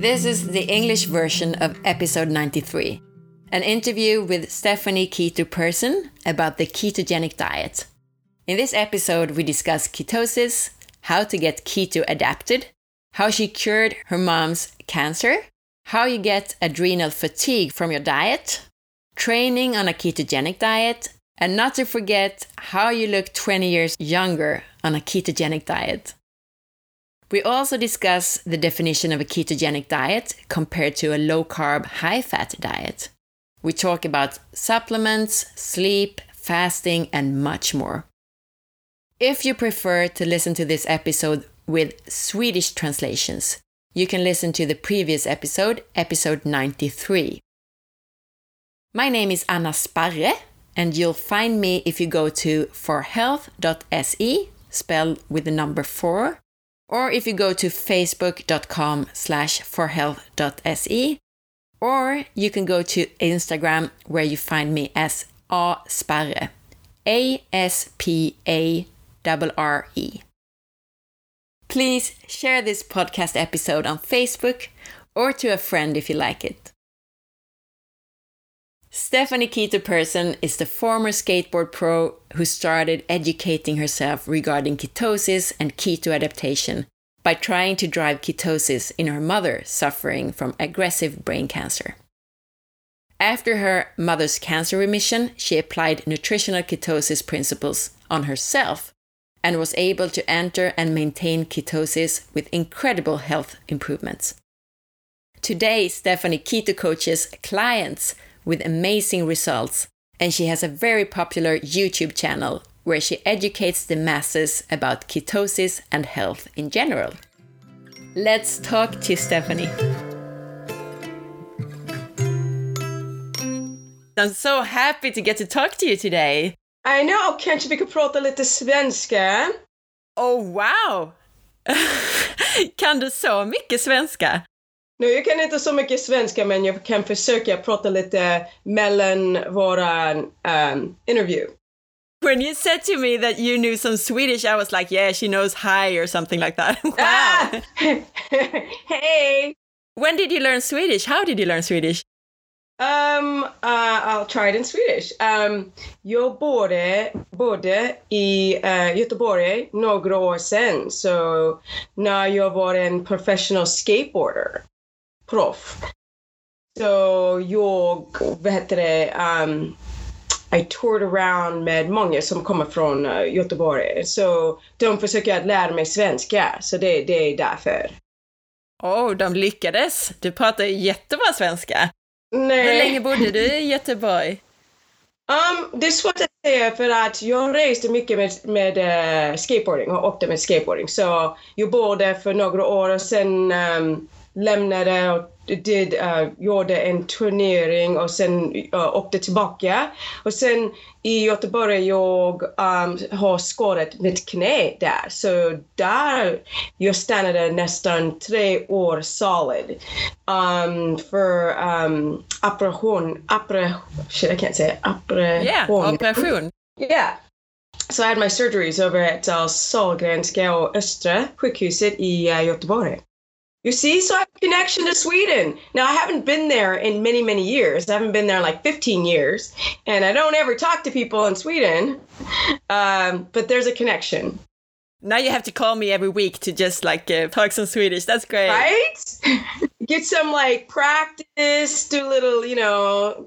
This is the English version of episode 93, an interview with Stephanie Keto Persson about the ketogenic diet. In this episode, we discuss ketosis, how to get keto adapted, how she cured her mom's cancer, how you get adrenal fatigue from your diet, training on a ketogenic diet, and not to forget how you look 20 years younger on a ketogenic diet. We also discuss the definition of a ketogenic diet compared to a low-carb, high-fat diet. We talk about supplements, sleep, fasting, and much more. If you prefer to listen to this episode with Swedish translations, you can listen to the previous episode, episode 93. My name is Anna Sparre, and you'll find me if you go to forhealth.se, spelled with the number 4, or if you go to facebook.com/forhealth.se, or you can go to Instagram where you find me as asparre, ASPARRE. Please share this podcast episode on Facebook or to a friend if you like it. Stephanie Keto Persson is the former skateboard pro who started educating herself regarding ketosis and keto adaptation by trying to drive ketosis in her mother suffering from aggressive brain cancer. After her mother's cancer remission, she applied nutritional ketosis principles on herself and was able to enter and maintain ketosis with incredible health improvements. Today, Stephanie keto coaches clients with amazing results, and she has a very popular YouTube channel where she educates the masses about ketosis and health in general. Let's talk to Stephanie. I'm so happy to get to talk to you today. I know, kanske vi kan prata lite svenska? Oh wow! Kan du så mycket svenska? No, jag kan inte så mycket svenska, men jag kan försöka prata lite mellan våra interview. When you said to me that you knew some Swedish, I was like, yeah, she knows hi or something like that. Wow! Hey! When did you learn Swedish? How did you learn Swedish? I'll try it in Swedish. Jag bodde i Göteborg några år sedan, så när jag var en professional skateboarder, proff. Så jag, I toured around med många som kommer från Göteborg, så de försöker att lära mig svenska, så det är därför. De lyckades. Du pratar jättebra svenska. Nej. Hur länge bodde du i Göteborg? Det är svårt att säga för att jag reste mycket med skateboarding och åkte med skateboarding. Så jag bodde för några år och sen lämnade och gjorde en turnering och sen åkte tillbaka. Och sen i Göteborg jag har skadat mitt knä där. Så där jag stannade nästan 3 år solid för operation. Yeah. So I had my surgeries over at Sahlgrenska och Östra sjukhuset i Göteborg. You see, so I have a connection to Sweden. Now, I haven't been there in many, many years. I haven't been there in like 15 years. And I don't ever talk to people in Sweden. But there's a connection. Now you have to call me every week to just talk some Swedish. That's great. Right? Get some practice, do a little,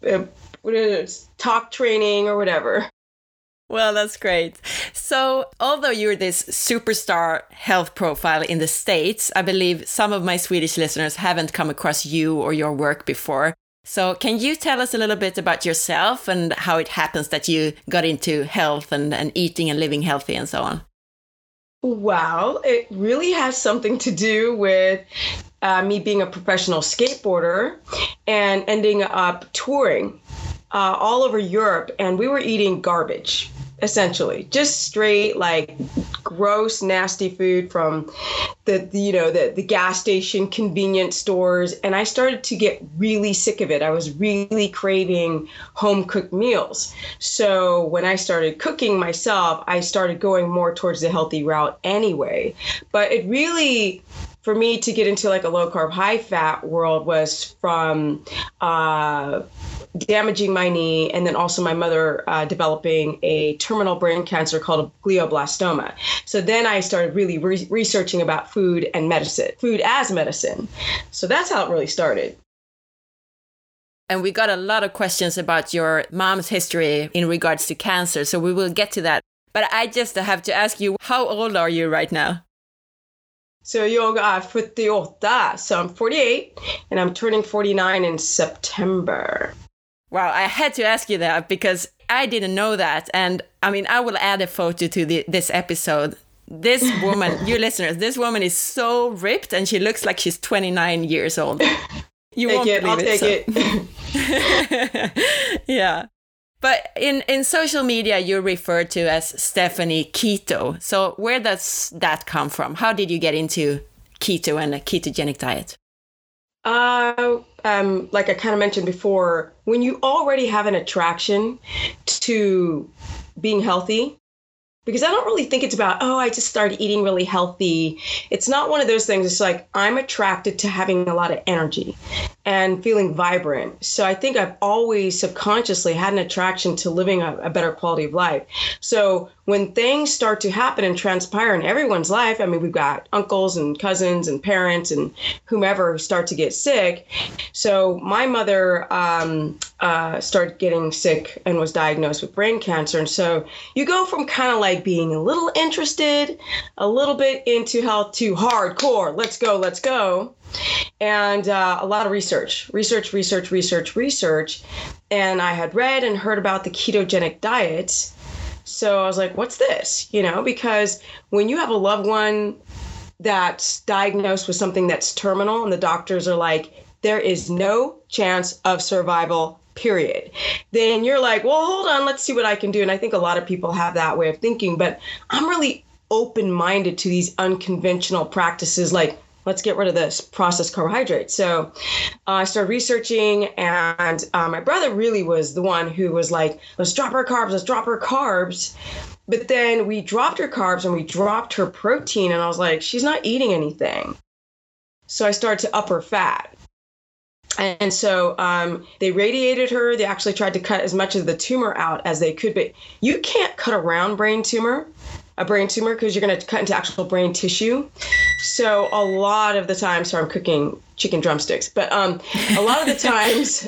talk training or whatever. Well, that's great. So, although you're this superstar health profile in the States, I believe some of my Swedish listeners haven't come across you or your work before. So, can you tell us a little bit about yourself and how it happens that you got into health and eating and living healthy and so on? Well, it really has something to do with me being a professional skateboarder and ending up touring all over Europe, and we were eating garbage. Essentially, just straight gross, nasty food from the gas station, convenience stores, and I started to get really sick of it. I was really craving home cooked meals. So when I started cooking myself, I started going more towards the healthy route anyway. But it really for me to get into like a low carb, high fat world was from damaging my knee, and then also my mother developing a terminal brain cancer called a glioblastoma. So then I started really researching about food and medicine, food as medicine. So that's how it really started. And we got a lot of questions about your mom's history in regards to cancer, so we will get to that. But I just have to ask you, how old are you right now? Så jag är 48, so I'm 48, and I'm turning 49 in September. Wow, I had to ask you that because I didn't know that. And I mean, I will add a photo to this episode. This woman, you listeners, this woman is so ripped and she looks like she's 29 years old. You won't believe I'll take it. Yeah. But in social media, you're referred to as Stephanie Keto. So where does that come from? How did you get into keto and a ketogenic diet? Like I kind of mentioned before, when you already have an attraction to being healthy, because I don't really think it's about, oh, I just started eating really healthy. It's not one of those things. It's like I'm attracted to having a lot of energy and feeling vibrant. So I think I've always subconsciously had an attraction to living a better quality of life. So when things start to happen and transpire in everyone's life, I mean, we've got uncles and cousins and parents and whomever who start to get sick. So my mother started getting sick and was diagnosed with brain cancer. And so you go from kind of like being a little interested, a little bit into health to hardcore, let's go. And a lot of research. And I had read and heard about the ketogenic diet. So I was like, what's this? You know, because when you have a loved one that's diagnosed with something that's terminal and the doctors are like, there is no chance of survival, period, then you're like, well, hold on, let's see what I can do. And I think a lot of people have that way of thinking, but I'm really open-minded to these unconventional practices, like let's get rid of this processed carbohydrates. So I started researching, and my brother really was the one who was like, let's drop our carbs. But then we dropped her carbs and we dropped her protein, and I was like, she's not eating anything. So I started to up her fat. And so they radiated her. They actually tried to cut as much of the tumor out as they could, but you can't cut around a brain tumor, because you're going to cut into actual brain tissue. So a lot of the time, sorry, I'm cooking chicken drumsticks, but a lot of the times,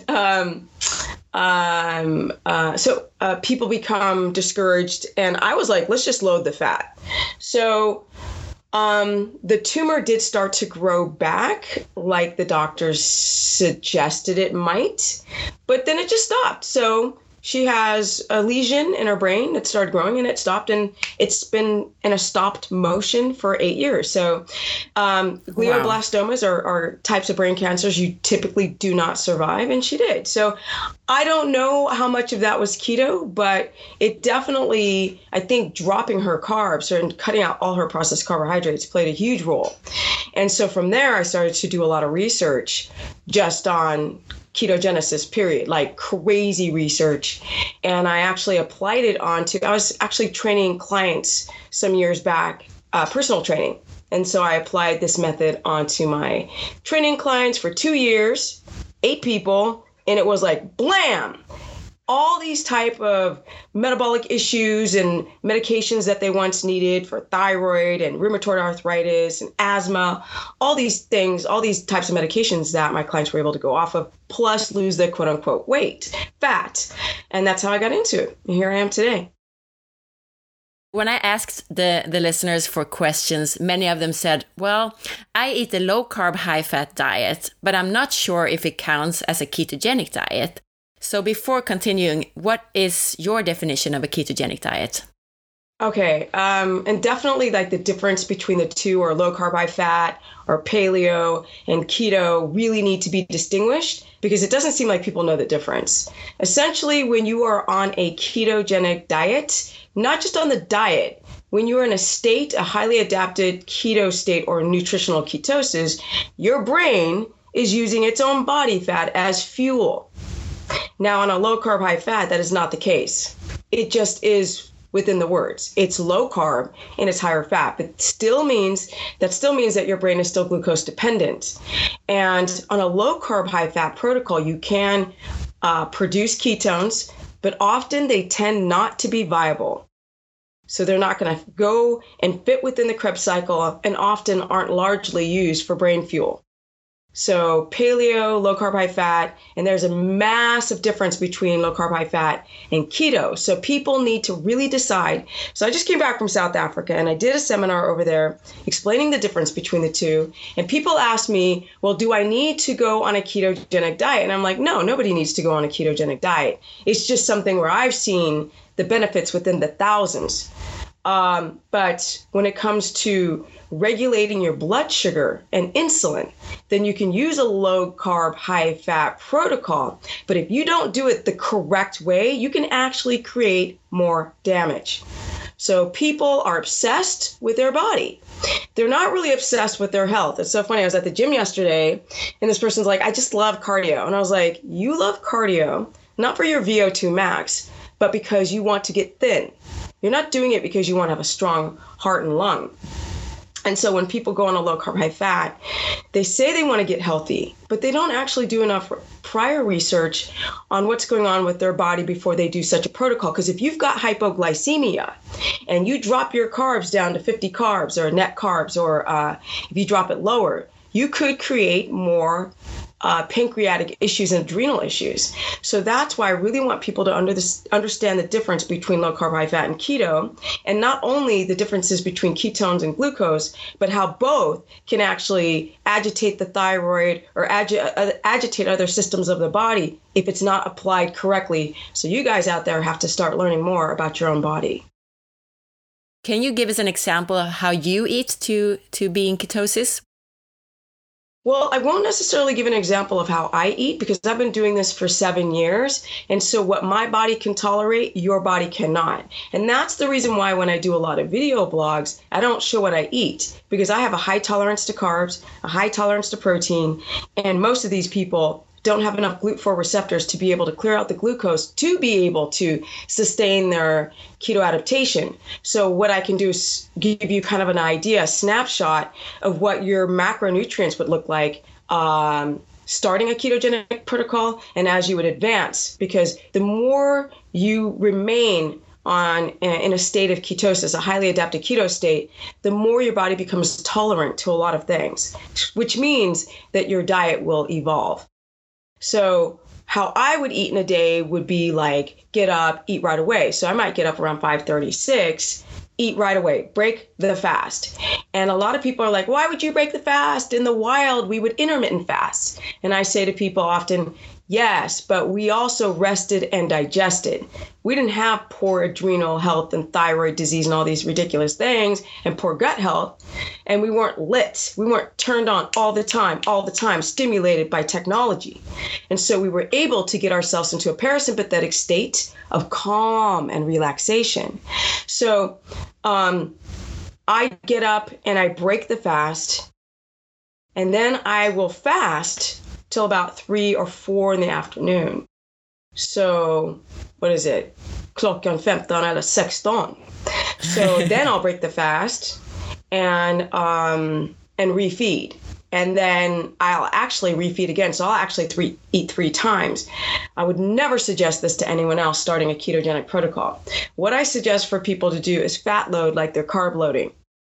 people become discouraged, and I was like, let's just load the fat. So the tumor did start to grow back like the doctors suggested it might, but then it just stopped. So she has a lesion in her brain that started growing, and it stopped, and it's been in a stopped motion for 8 years. So glioblastomas are types of brain cancers you typically do not survive, and she did. So I don't know how much of that was keto, but it definitely, I think dropping her carbs and cutting out all her processed carbohydrates played a huge role. And so from there, I started to do a lot of research just on ketogenesis, period, like crazy research. And I actually applied it I was actually training clients some years back, personal training. And so I applied this method onto my training clients for 2 years, 8 people, and it was like, blam! All these type of metabolic issues and medications that they once needed for thyroid and rheumatoid arthritis and asthma, all these things, all these types of medications that my clients were able to go off of, plus lose the quote unquote weight, fat. And that's how I got into it. And here I am today. When I asked the listeners for questions, many of them said, well, I eat a low carb, high fat diet, but I'm not sure if it counts as a ketogenic diet. So before continuing, what is your definition of a ketogenic diet? Okay, and definitely like the difference between the two, or low carb, high fat, or paleo and keto, really need to be distinguished, because it doesn't seem like people know the difference. Essentially, when you are on a ketogenic diet, not just on the diet, when you're in a highly adapted keto state or nutritional ketosis, your brain is using its own body fat as fuel. Now, on a low carb, high fat, that is not the case. It just is within the words. It's low carb and it's higher fat, but still means that your brain is still glucose dependent. And on a low carb, high fat protocol, you can produce ketones, but often they tend not to be viable. So they're not going to go and fit within the Krebs cycle and often aren't largely used for brain fuel. So paleo, low carb, high fat, and there's a massive difference between low carb, high fat and keto. So people need to really decide. So I just came back from South Africa and I did a seminar over there explaining the difference between the two. And people asked me, well, do I need to go on a ketogenic diet? And I'm like, no, nobody needs to go on a ketogenic diet. It's just something where I've seen the benefits within the thousands. But when it comes to regulating your blood sugar and insulin, then you can use a low carb, high fat protocol. But if you don't do it the correct way, you can actually create more damage. So people are obsessed with their body. They're not really obsessed with their health. It's so funny. I was at the gym yesterday and this person's like, I just love cardio. And I was like, you love cardio, not for your VO2 max, but because you want to get thin. You're not doing it because you want to have a strong heart and lung. And so when people go on a low carb, high fat, they say they want to get healthy, but they don't actually do enough prior research on what's going on with their body before they do such a protocol. Because if you've got hypoglycemia and you drop your carbs down to 50 carbs or net carbs, or if you drop it lower, you could create more pancreatic issues and adrenal issues. So that's why I really want people to understand the difference between low carb, high fat and keto, and not only the differences between ketones and glucose, but how both can actually agitate the thyroid or agitate other systems of the body if it's not applied correctly. So you guys out there have to start learning more about your own body. Can you give us an example of how you eat to be in ketosis? Well, I won't necessarily give an example of how I eat because I've been doing this for 7 years. And so what my body can tolerate, your body cannot. And that's the reason why when I do a lot of video blogs, I don't show what I eat because I have a high tolerance to carbs, a high tolerance to protein. And most of these people don't have enough GLUT4 receptors to be able to clear out the glucose to be able to sustain their keto adaptation. So what I can do is give you kind of an idea, a snapshot of what your macronutrients would look like starting a ketogenic protocol and as you would advance, because the more you remain in a state of ketosis, a highly adapted keto state, the more your body becomes tolerant to a lot of things, which means that your diet will evolve. So how I would eat in a day would be like get up, eat right away. So I might get up around 5:36, eat right away, break the fast. And a lot of people are like, why would you break the fast? In the wild, we would intermittent fast. And I say to people often, yes, but we also rested and digested. We didn't have poor adrenal health and thyroid disease and all these ridiculous things and poor gut health. And we weren't lit. We weren't turned on all the time, stimulated by technology. And so we were able to get ourselves into a parasympathetic state of calm and relaxation. So I get up and I break the fast, and then I will fast till about 3 or 4 in the afternoon. So what is it? Klockan 15 eller 16. So then I'll break the fast and refeed. And then I'll actually refeed again. So I'll actually eat 3 times. I would never suggest this to anyone else starting a ketogenic protocol. What I suggest for people to do is fat load like they're carb loading.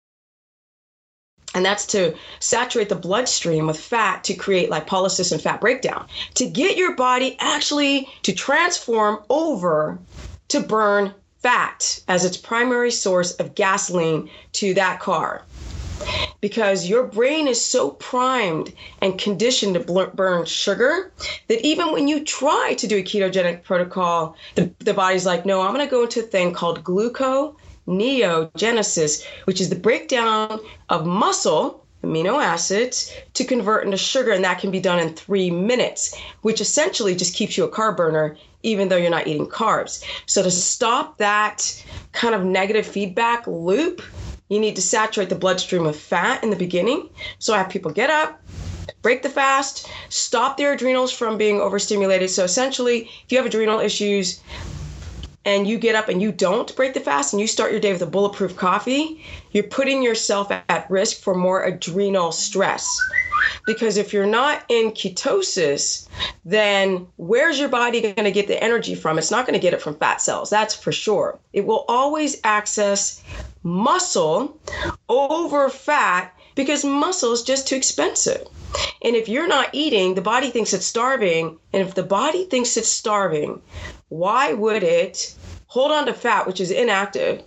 And that's to saturate the bloodstream with fat to create lipolysis and fat breakdown, to get your body actually to transform over to burn fat as its primary source of gasoline to that car. Because your brain is so primed and conditioned to burn sugar that even when you try to do a ketogenic protocol, the body's like, no, I'm going to go into a thing called gluconeogenesis, which is the breakdown of muscle amino acids to convert into sugar. And that can be done in 3 minutes, which essentially just keeps you a carb burner, even though you're not eating carbs. So to stop that kind of negative feedback loop, you need to saturate the bloodstream with fat in the beginning. So I have people get up, break the fast, stop their adrenals from being overstimulated. So essentially, if you have adrenal issues, and you get up and you don't break the fast and you start your day with a bulletproof coffee, you're putting yourself at risk for more adrenal stress. Because if you're not in ketosis, then where's your body going to get the energy from? It's not going to get it from fat cells, that's for sure. It will always access muscle over fat because muscle is just too expensive. And if you're not eating, the body thinks it's starving. And if the body thinks it's starving, why would it hold on to fat, which is inactive,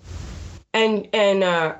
why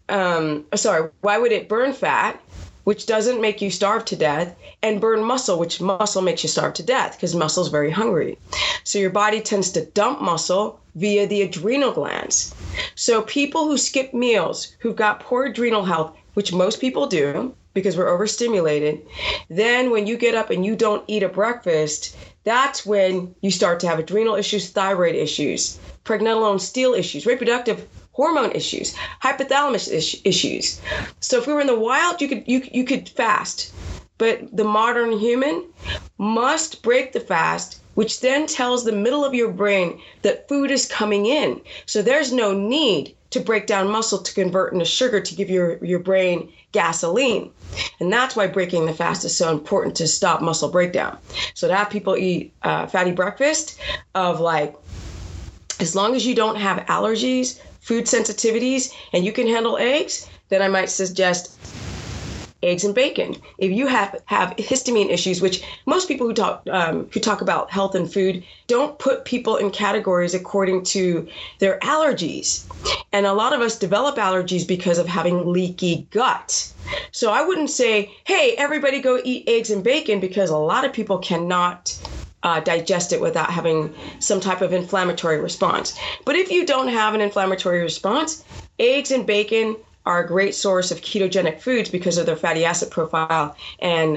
would it burn fat, which doesn't make you starve to death, and burn muscle, which muscle makes you starve to death because muscle is very hungry. So your body tends to dump muscle via the adrenal glands. So people who skip meals, who've got poor adrenal health, which most people do because we're overstimulated, then when you get up and you don't eat a breakfast, that's when you start to have adrenal issues, thyroid issues, pregnenolone steal issues, reproductive hormone issues, hypothalamus issues. So if we were in the wild, you could fast, but the modern human must break the fast, which then tells the middle of your brain that food is coming in. So there's no need to break down muscle to convert into sugar to give your brain gasoline. And that's why breaking the fast is so important, to stop muscle breakdown. So to have people eat fatty breakfast of like, as long as you don't have allergies, food sensitivities, and you can handle eggs, then I might suggest eggs and bacon. If you have histamine issues, which most people who talk about health and food don't put people in categories according to their allergies. And a lot of us develop allergies because of having leaky gut. So I wouldn't say, hey, everybody go eat eggs and bacon, because a lot of people cannot digest it without having some type of inflammatory response. But if you don't have an inflammatory response, eggs and bacon are a great source of ketogenic foods because of their fatty acid profile and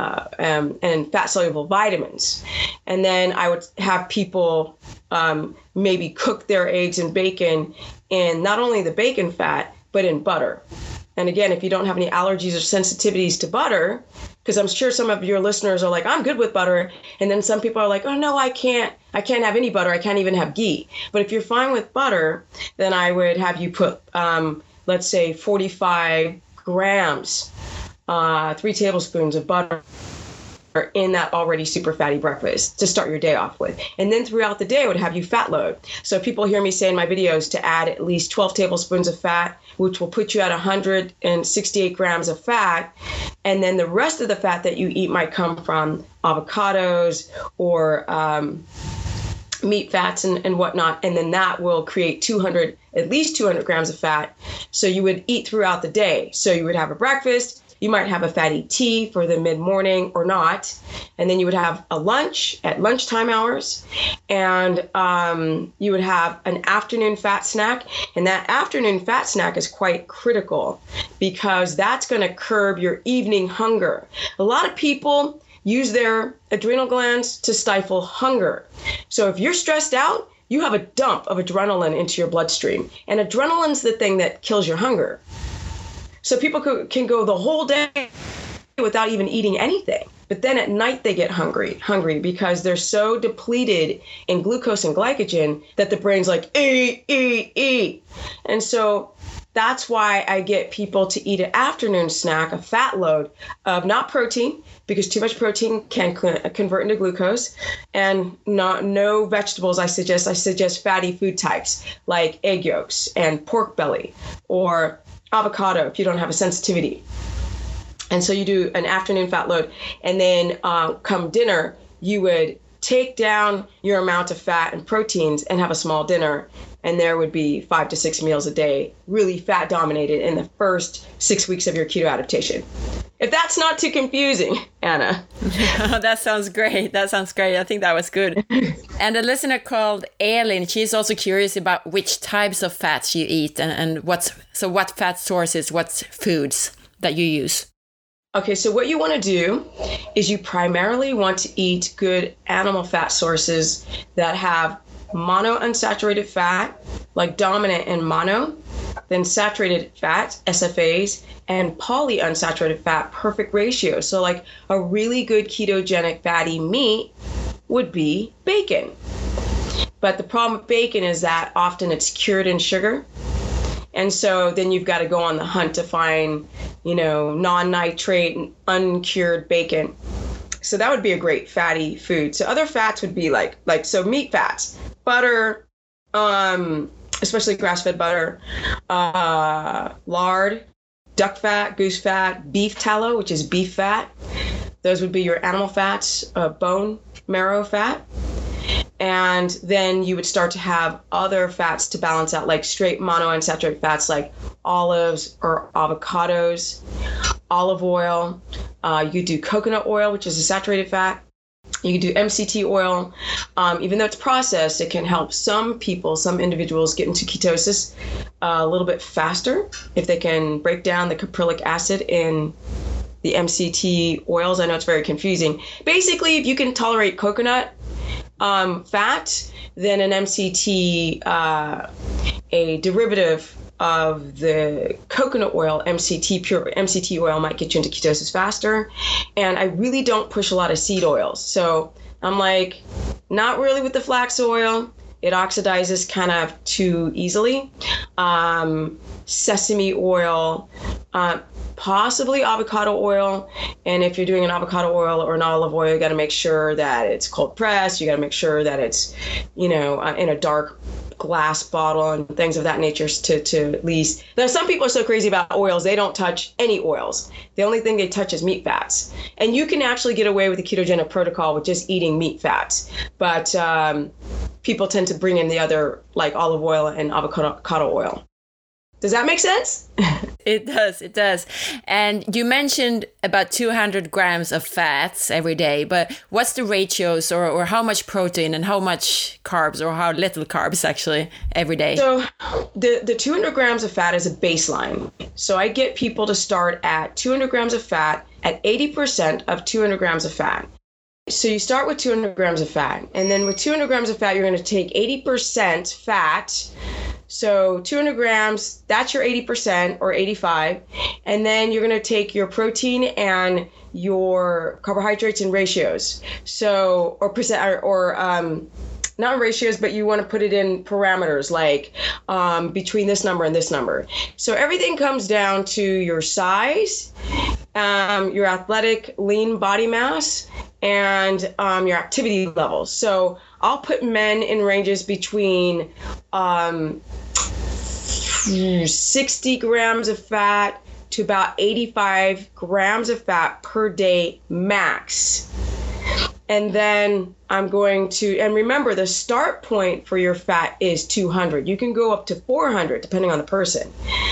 fat soluble vitamins. And then I would have people maybe cook their eggs and bacon in not only the bacon fat, but in butter. And again, if you don't have any allergies or sensitivities to butter, because I'm sure some of your listeners are like, I'm good with butter. And then some people are like, oh, no, I can't have any butter. I can't even have ghee. But if you're fine with butter, then I would have you put, let's say, 45 grams, 3 tablespoons of butter in that already super fatty breakfast to start your day off with. And then throughout the day, I would have you fat load. So people hear me say in my videos to add at least 12 tablespoons of fat, which will put you at 168 grams of fat. And then the rest of the fat that you eat might come from avocados or meat fats and whatnot. And then that will create at least 200 grams of fat. So you would eat throughout the day. So you would have a breakfast. You might have a fatty tea for the mid-morning or not. And then you would have a lunch at lunchtime hours. And you would have an afternoon fat snack. And that afternoon fat snack is quite critical because that's going to curb your evening hunger. A lot of people use their adrenal glands to stifle hunger. So if you're stressed out, you have a dump of adrenaline into your bloodstream. And adrenaline's the thing that kills your hunger. So people can go the whole day without even eating anything. But then at night they get hungry because they're so depleted in glucose and glycogen that the brain's like, eat. And so that's why I get people to eat an afternoon snack, a fat load of not protein, because too much protein can convert into glucose, and no vegetables. I suggest fatty food types like egg yolks and pork belly or avocado if you don't have a sensitivity. And so you do an afternoon fat load, and then come dinner, you would take down your amount of fat and proteins and have a small dinner. And there would be 5 to 6 meals a day, really fat dominated in the first 6 weeks of your keto adaptation. If that's not too confusing, Anna. That sounds great. I think that was good. And a listener called Elin, she's also curious about which types of fats you eat and what fat sources, what foods that you use. Okay, so what you want to do is you primarily want to eat good animal fat sources that have monounsaturated fat, like dominant and mono, then saturated fat, SFAs, and polyunsaturated fat, perfect ratio. So like a really good ketogenic fatty meat would be bacon. But the problem with bacon is that often it's cured in sugar. And so then you've got to go on the hunt to find, non-nitrate, uncured bacon. So that would be a great fatty food. So other fats would be like meat fats, butter, especially grass-fed butter, lard, duck fat, goose fat, beef tallow, which is beef fat. Those would be your animal fats, bone marrow fat. And then you would start to have other fats to balance out, like straight monounsaturated fats like olives or avocados, olive oil. You do coconut oil, which is a saturated fat. You can do MCT oil. Even though it's processed, it can help some individuals get into ketosis a little bit faster if they can break down the caprylic acid in the MCT oils. I know it's very confusing. Basically, if you can tolerate coconut fat, then an MCT, a derivative of the coconut oil, pure MCT oil, might get you into ketosis faster. And I really don't push a lot of seed oils. So I'm like, not really with the flax oil. It oxidizes kind of too easily. Sesame oil, possibly avocado oil. And if you're doing an avocado oil or an olive oil, you got to make sure that it's cold pressed. You got to make sure that it's, in a dark glass bottle and things of that nature to at least. Now, some people are so crazy about oils, they don't touch any oils. The only thing they touch is meat fats. And you can actually get away with the ketogenic protocol with just eating meat fats. But people tend to bring in the other, like olive oil and avocado oil. Does that make sense? It does. And you mentioned about 200 grams of fats every day, but what's the ratios or how much protein and how much carbs or how little carbs actually every day? So the 200 grams of fat is a baseline. So I get people to start at 200 grams of fat at 80% of 200 grams of fat. So you start with 200 grams of fat, and then with 200 grams of fat, you're going to take 80% fat. So 200 grams, that's your 80% or 85. And then you're going to take your protein and your carbohydrates in ratios. So, or percent, or not ratios, but you want to put it in parameters like between this number and this number. So everything comes down to your size, your athletic lean body mass, and your activity levels. So I'll put men in ranges between 60 grams of fat to about 85 grams of fat per day max. And then I'm going to, and remember the start point for your fat is 200. You can go up to 400 depending on the person.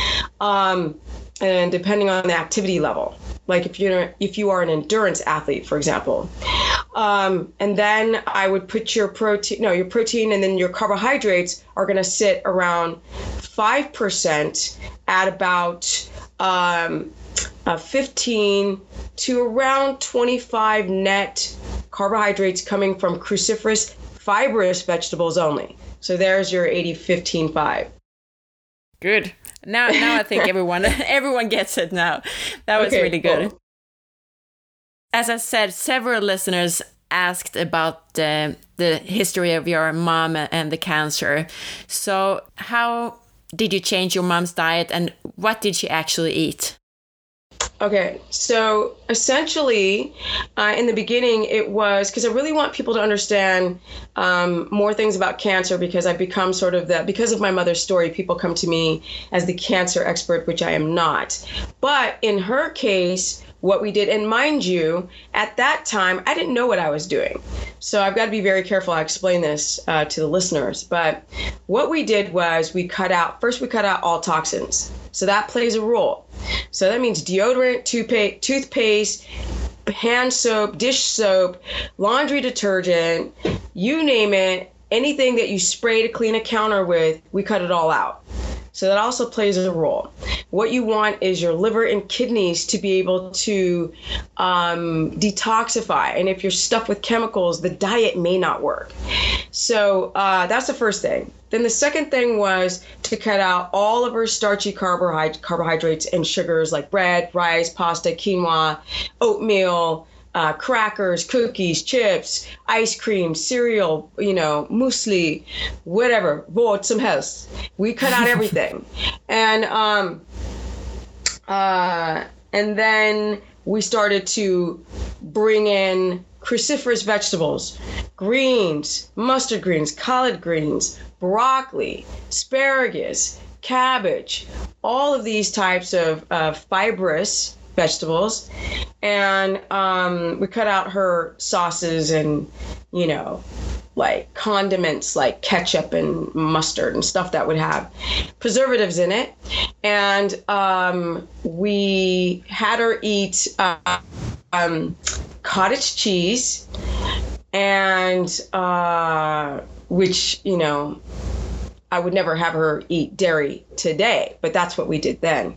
And depending on the activity level, like if you are an endurance athlete, for example. And then I would put your protein and then your carbohydrates are going to sit around 5% at about 15 to around 25 net carbohydrates coming from cruciferous fibrous vegetables only. So there's your 80-15-5. Good. Now I think everyone gets it now. That was really good. Cool. As I said, several listeners asked about the history of your mom and the cancer. So how did you change your mom's diet and what did she actually eat? Okay, so essentially, in the beginning, it was because I really want people to understand more things about cancer because I've become because of my mother's story, people come to me as the cancer expert, which I am not. But in her case, what we did, and mind you, at that time, I didn't know what I was doing. So I've got to be very careful. I explain this to the listeners. But what we did was we cut out all toxins. So that plays a role. So that means deodorant, toothpaste, hand soap, dish soap, laundry detergent, you name it, anything that you spray to clean a counter with, we cut it all out. So that also plays a role. What you want is your liver and kidneys to be able to detoxify. And if you're stuffed with chemicals, the diet may not work. So that's the first thing. Then the second thing was to cut out all of our starchy carbohydrates and sugars like bread, rice, pasta, quinoa, oatmeal, crackers, cookies, chips, ice cream, cereal, muesli, whatever, vad som helst. We cut out everything. And then we started to bring in cruciferous vegetables, greens, mustard greens, collard greens, broccoli, asparagus, cabbage, all of these types of fibrous vegetables. And we cut out her sauces and, like condiments like ketchup and mustard and stuff that would have preservatives in it. And we had her eat cottage cheese, and which, I would never have her eat dairy today, but that's what we did then.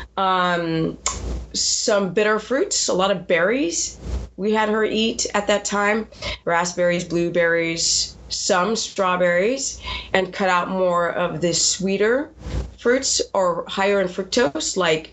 Some bitter fruits, a lot of berries we had her eat at that time, raspberries, blueberries, some strawberries, and cut out more of the sweeter fruits or higher in fructose, like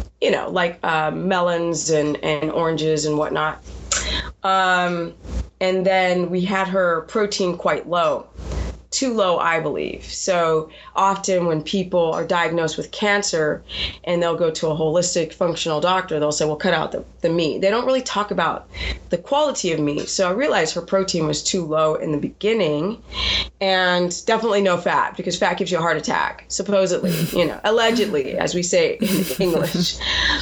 melons and oranges and whatnot. And then we had her protein quite low. Too low, I believe. So often when people are diagnosed with cancer and they'll go to a holistic functional doctor, they'll say, well, cut out the meat. They don't really talk about the quality of meat. So I realized her protein was too low in the beginning, and definitely no fat, because fat gives you a heart attack, supposedly, allegedly, as we say in English.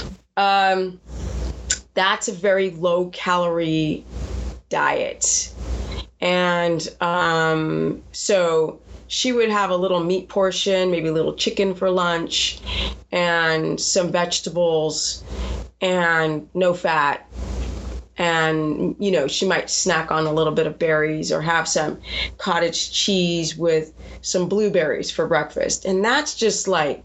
That's a very low calorie diet. And so she would have a little meat portion, maybe a little chicken for lunch, and some vegetables, and no fat. And, she might snack on a little bit of berries or have some cottage cheese with some blueberries for breakfast. And that's just like,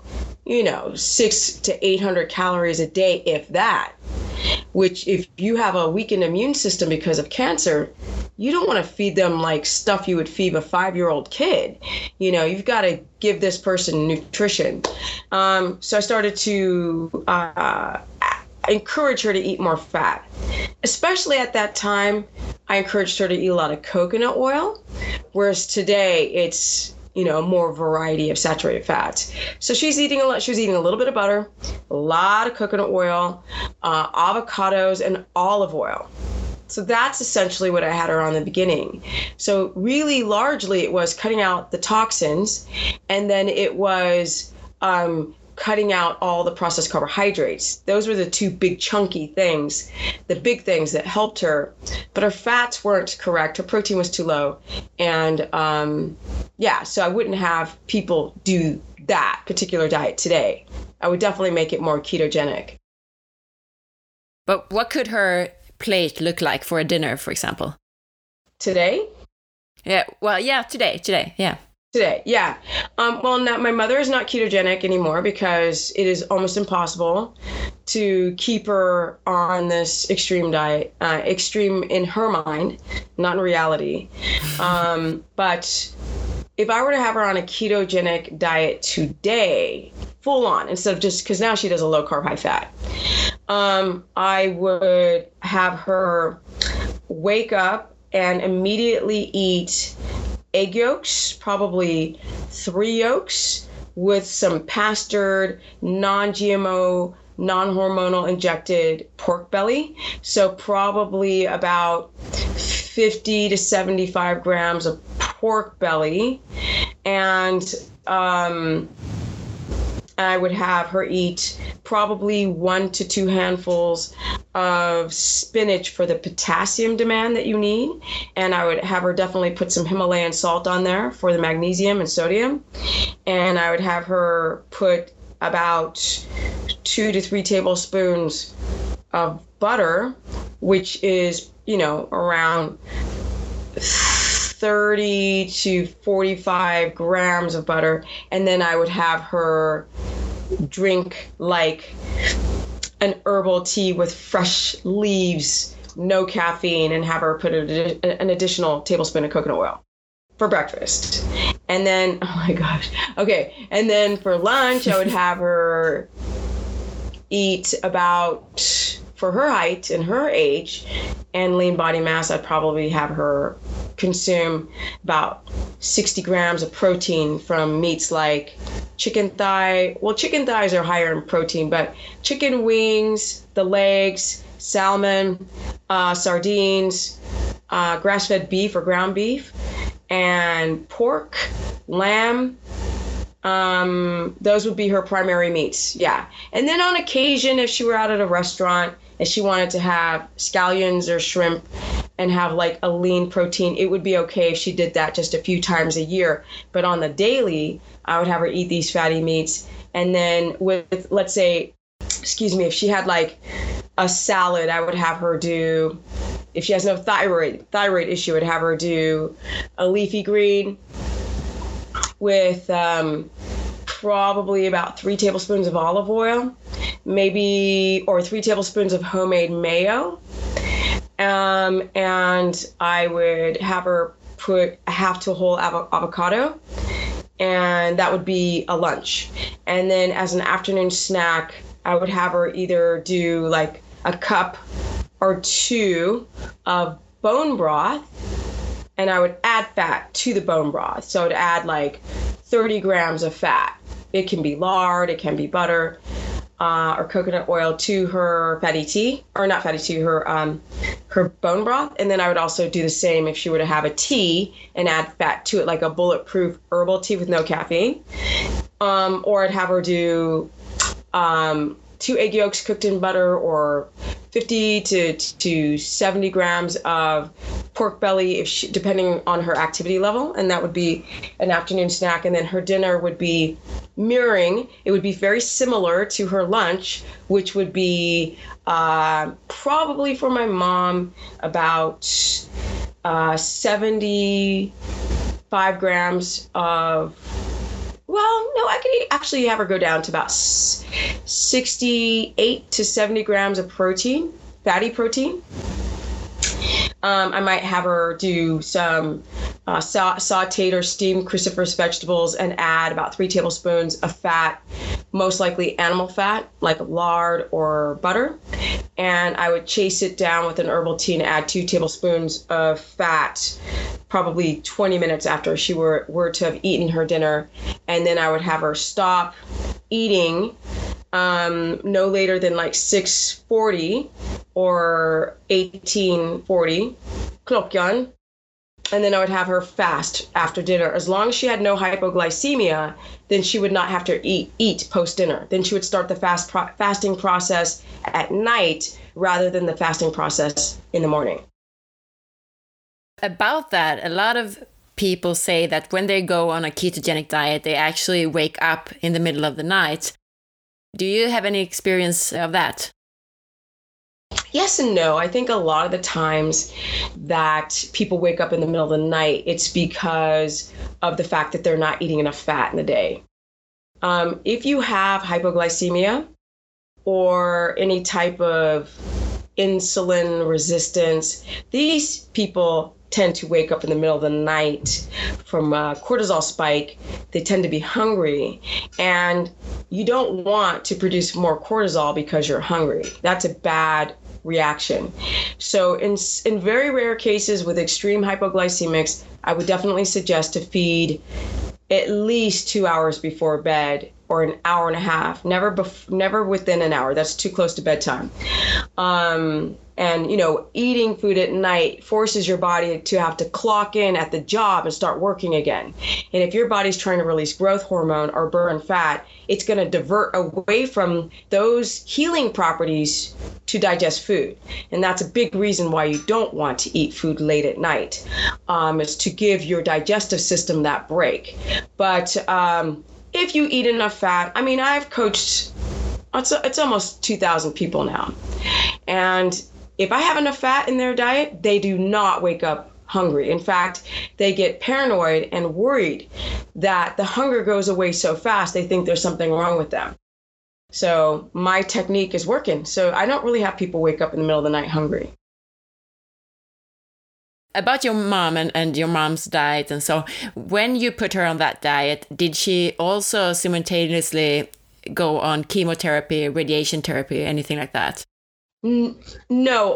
600 to 800 calories a day, if that. Which, if you have a weakened immune system because of cancer, you don't want to feed them like stuff you would feed a 5-year-old kid. You've got to give this person nutrition. So I started to encourage her to eat more fat. Especially at that time, I encouraged her to eat a lot of coconut oil, whereas today it's more variety of saturated fats. So she was eating a little bit of butter, a lot of coconut oil, avocados, and olive oil. So that's essentially what I had her on in the beginning. So really largely it was cutting out the toxins, and then it was cutting out all the processed carbohydrates. Those were the two big chunky things, the big things that helped her. But her fats weren't correct. Her protein was too low. And so I wouldn't have people do that particular diet today. I would definitely make it more ketogenic. But what could her plate look like for a dinner, for example? Today? Yeah, well, yeah, today, yeah. Today, yeah. Well, now my mother is not ketogenic anymore because it is almost impossible to keep her on this extreme diet, extreme in her mind, not in reality. But if I were to have her on a ketogenic diet today, full on, instead of just, because now she does a low carb, high fat, I would have her wake up and immediately eat egg yolks, probably 3 yolks, with some pastured, non-GMO, non-hormonal injected pork belly. So probably about 50 to 75 grams of pork belly. And I would have her eat probably 1 to 2 handfuls of spinach for the potassium demand that you need. And I would have her definitely put some Himalayan salt on there for the magnesium and sodium. And I would have her put about 2 to 3 tablespoons of butter, which is, around 30 to 45 grams of butter. And then I would have her drink like an herbal tea with fresh leaves, no caffeine, and have her put an additional tablespoon of coconut oil for breakfast. And then, oh my gosh. Okay. And then for lunch, I would have her eat about for her height and her age and lean body mass, I'd probably have her consume about 60 grams of protein from meats like chicken thigh. Well, chicken thighs are higher in protein, but chicken wings, the legs, salmon, sardines, grass-fed beef or ground beef, and pork, lamb. Those would be her primary meats. Yeah. And then on occasion, if she were out at a restaurant and she wanted to have scallions or shrimp and have like a lean protein, it would be okay if she did that just a few times a year. But on the daily, I would have her eat these fatty meats. And then with, let's say, if she had like a salad, I would have her do, if she has no thyroid issue, I'd have her do a leafy green with probably about 3 tablespoons of olive oil, maybe, or 3 tablespoons of homemade mayo. And I would have her put a half to a whole avocado, and that would be a lunch. And then as an afternoon snack, I would have her either do like a cup or 2 of bone broth, and I would add fat to the bone broth. So I'd add like 30 grams of fat. It can be lard, it can be butter, or coconut oil to her fatty tea, or not fatty tea, her bone broth. And then I would also do the same if she were to have a tea and add fat to it, like a bulletproof herbal tea with no caffeine. Or I'd have her do 2 egg yolks cooked in butter, or 50 to 70 grams of pork belly, depending on her activity level, and that would be an afternoon snack. And then her dinner would be mirroring. It would be very similar to her lunch, which would be probably for my mom about 75 grams of, well, no, I could actually have her go down to about 68 to 70 grams of protein, fatty protein. I might have her do some sauteed or steamed cruciferous vegetables and add about 3 tablespoons of fat, most likely animal fat, like lard or butter. And I would chase it down with an herbal tea and add 2 tablespoons of fat, probably 20 minutes after she were to have eaten her dinner. And then I would have her stop eating no later than like 6:40 or 18:40 klockan. And then I would have her fast after dinner. As long as she had no hypoglycemia, then she would not have to eat post-dinner. Then she would start the fasting process at night rather than the fasting process in the morning. About that, a lot of people say that when they go on a ketogenic diet, they actually wake up in the middle of the night. Do you have any experience of that? Yes and no. I think a lot of the times that people wake up in the middle of the night, it's because of the fact that they're not eating enough fat in the day. If you have hypoglycemia or any type of insulin resistance, these people tend to wake up in the middle of the night from a cortisol spike. They tend to be hungry, and you don't want to produce more cortisol because you're hungry. That's a bad reaction. So in very rare cases with extreme hypoglycemics, I would definitely suggest to feed at least 2 hours before bed, or an hour and a half, never within an hour. That's too close to bedtime. And, eating food at night forces your body to have to clock in at the job and start working again. And if your body's trying to release growth hormone or burn fat, it's going to divert away from those healing properties to digest food. And that's a big reason why you don't want to eat food late at night, is to give your digestive system that break. But if you eat enough fat, I've coached, it's almost 2,000 people now. And if I have enough fat in their diet, they do not wake up hungry. In fact, they get paranoid and worried that the hunger goes away so fast, they think there's something wrong with them. So my technique is working. So I don't really have people wake up in the middle of the night hungry. About your mom and your mom's diet, and so when you put her on that diet, did she also simultaneously go on chemotherapy, radiation therapy, anything like that? No.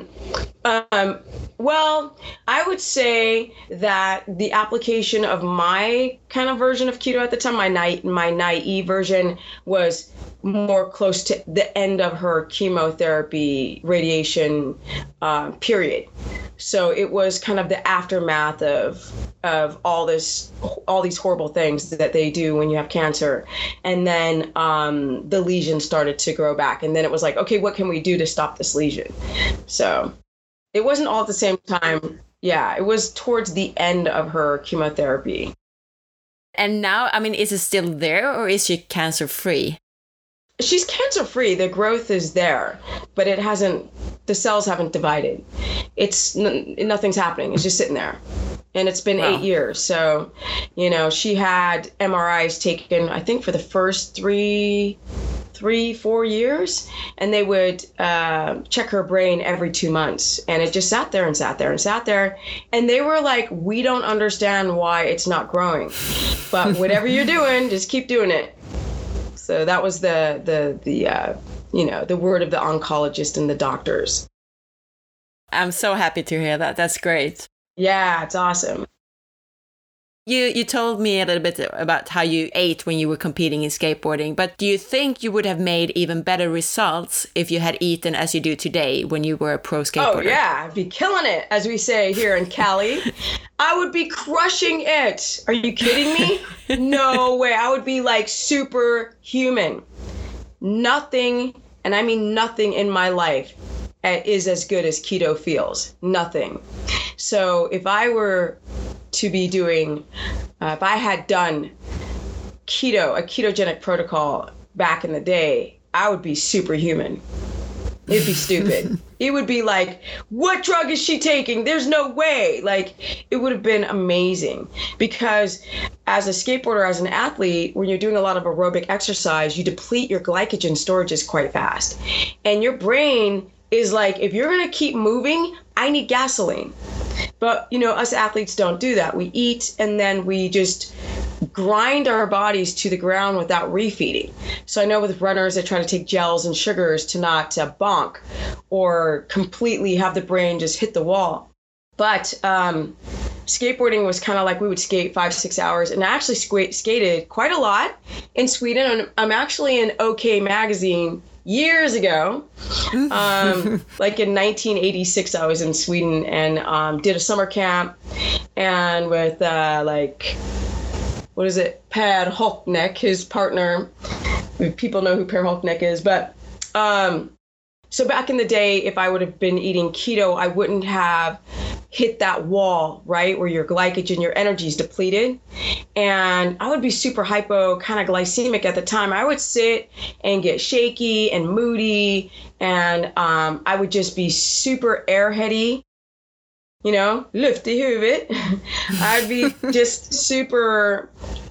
Well, I would say that the application of my kind of version of keto at the time, my naive version, was more close to the end of her chemotherapy radiation period. So it was kind of the aftermath of all these horrible things that they do when you have cancer. And then the lesion started to grow back. And then it was like, okay, what can we do to stop this lesion? So it wasn't all at the same time. Yeah, it was towards the end of her chemotherapy. And now, I mean, is it still there or is she cancer free? She's cancer free. The growth is there, but the cells haven't divided. Nothing's happening. It's just sitting there. And it's been 8 years. So, she had MRIs taken, I think, for the first 4 years. And they would check her brain every 2 months. And it just sat there and sat there and sat there. And they were like, we don't understand why it's not growing. But whatever you're doing, just keep doing it. So that was the word of the oncologist and the doctors. I'm so happy to hear that. That's great. Yeah, it's awesome. You told me a little bit about how you ate when you were competing in skateboarding, but do you think you would have made even better results if you had eaten as you do today when you were a pro skateboarder? Oh, yeah. I'd be killing it, as we say here in Cali. I would be crushing it. Are you kidding me? No way. I would be like superhuman. Nothing, and I mean nothing in my life is as good as keto feels. Nothing. So if I were to be doing, if I had done a ketogenic protocol back in the day, I would be superhuman. It'd be stupid. It would be like, what drug is she taking? There's no way. Like, it would have been amazing. Because as a skateboarder, as an athlete, when you're doing a lot of aerobic exercise, you deplete your glycogen storages quite fast. And your brain is like, if you're going to keep moving, I need gasoline. But, us athletes don't do that. We eat and then we just grind our bodies to the ground without refeeding. So I know with runners, they try to take gels and sugars to not bonk or completely have the brain just hit the wall. But skateboarding was kind of like we would skate 5-6 hours, and I actually skated quite a lot in Sweden. I'm actually in OK Magazine years ago, like in 1986, I was in Sweden and did a summer camp, and with Per Holknecht, his partner. People know who Per Holknecht is, but so back in the day, if I would have been eating keto, I wouldn't have hit that wall, right, where your glycogen, your energy is depleted. And I would be super hypo, kind of glycemic at the time. I would sit and get shaky and moody, and I would just be super airheady, luft i huvudet. I'd be just super,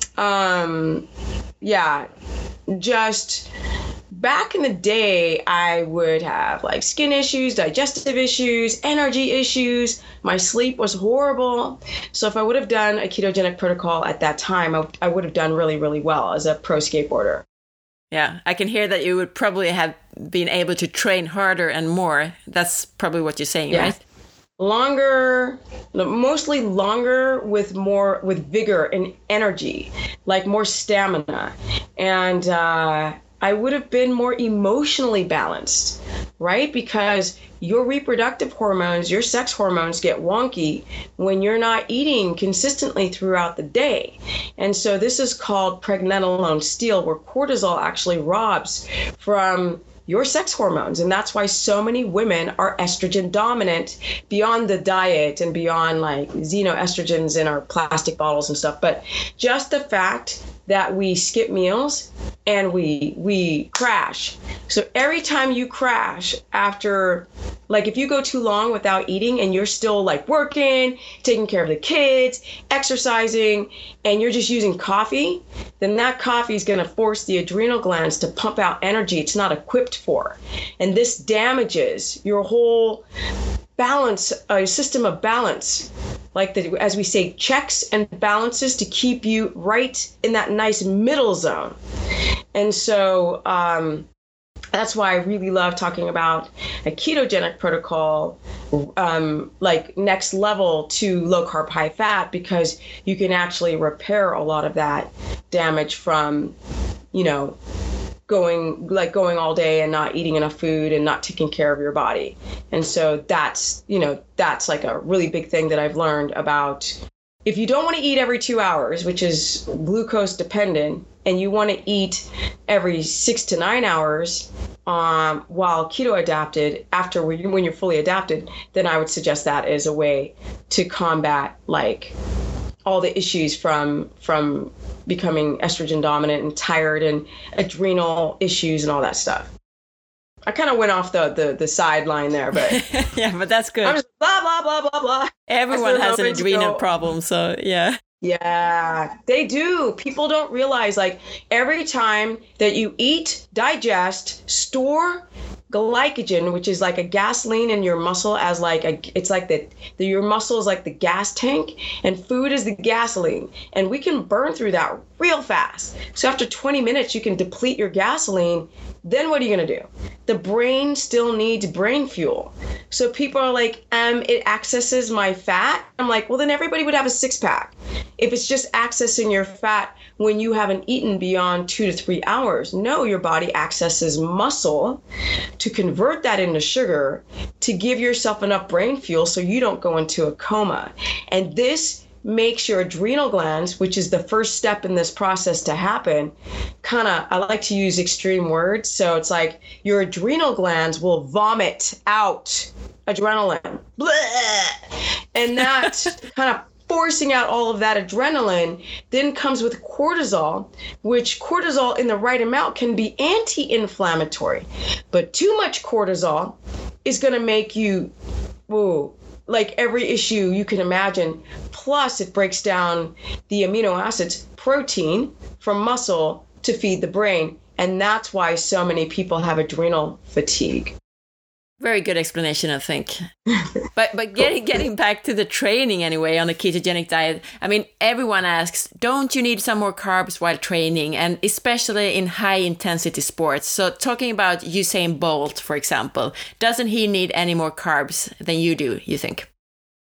just back in the day, I would have like skin issues, digestive issues, energy issues. My sleep was horrible. So if I would have done a ketogenic protocol at that time, I would have done really, really well as a pro skateboarder. Yeah, I can hear that you would probably have been able to train harder and more. That's probably what you're saying, right? Longer, mostly longer with vigor and energy, like more stamina. And I would have been more emotionally balanced, right? Because your reproductive hormones, your sex hormones get wonky when you're not eating consistently throughout the day. And so this is called pregnenolone steal, where cortisol actually robs from your sex hormones. And that's why so many women are estrogen dominant beyond the diet and beyond like xenoestrogens in our plastic bottles and stuff. But just the fact that we skip meals and we crash. So every time you crash after, like if you go too long without eating and you're still like working, taking care of the kids, exercising, and you're just using coffee, then that coffee is going to force the adrenal glands to pump out energy it's not equipped for. And this damages your whole balance, system of balance, like as we say, checks and balances to keep you right in that nice middle zone. And so that's why I really love talking about a ketogenic protocol, like next level to low carb, high fat, because you can actually repair a lot of that damage from, going all day and not eating enough food and not taking care of your body. And so that's like a really big thing that I've learned about. If you don't want to eat every 2 hours, which is glucose dependent, and you want to eat every 6 to 9 hours while keto adapted, after when you're fully adapted, then I would suggest that as a way to combat like all the issues from becoming estrogen dominant and tired and adrenal issues and all that stuff. I kind of went off the sideline there, but yeah, but that's good. I'm just blah, blah, blah, blah, blah. Everyone has an adrenal problem, so yeah. Yeah, they do. People don't realize, like, every time that you eat, digest, store glycogen, which is like a gasoline in your muscle, as like it's like your muscle is like the gas tank, and food is the gasoline, and we can burn through that real fast. So after 20 minutes, you can deplete your gasoline. Then what are you gonna do? The brain still needs brain fuel. So people are like, it accesses my fat. I'm like, well, then everybody would have a 6-pack. If it's just accessing your fat when you haven't eaten beyond 2 to 3 hours. No, your body accesses muscle to convert that into sugar to give yourself enough brain fuel so you don't go into a coma. And this makes your adrenal glands, which is the first step in this process to happen, I like to use extreme words. So it's like your adrenal glands will vomit out adrenaline. Blah! And that kind of forcing out all of that adrenaline then comes with cortisol, which cortisol in the right amount can be anti-inflammatory. But too much cortisol is going to make you, like every issue you can imagine. Plus, it breaks down the amino acids, protein from muscle to feed the brain. And that's why so many people have adrenal fatigue. Very good explanation, I think. But getting back to the training anyway on the ketogenic diet, I mean, everyone asks, don't you need some more carbs while training? And especially in high intensity sports. So talking about Usain Bolt, for example, doesn't he need any more carbs than you do, you think?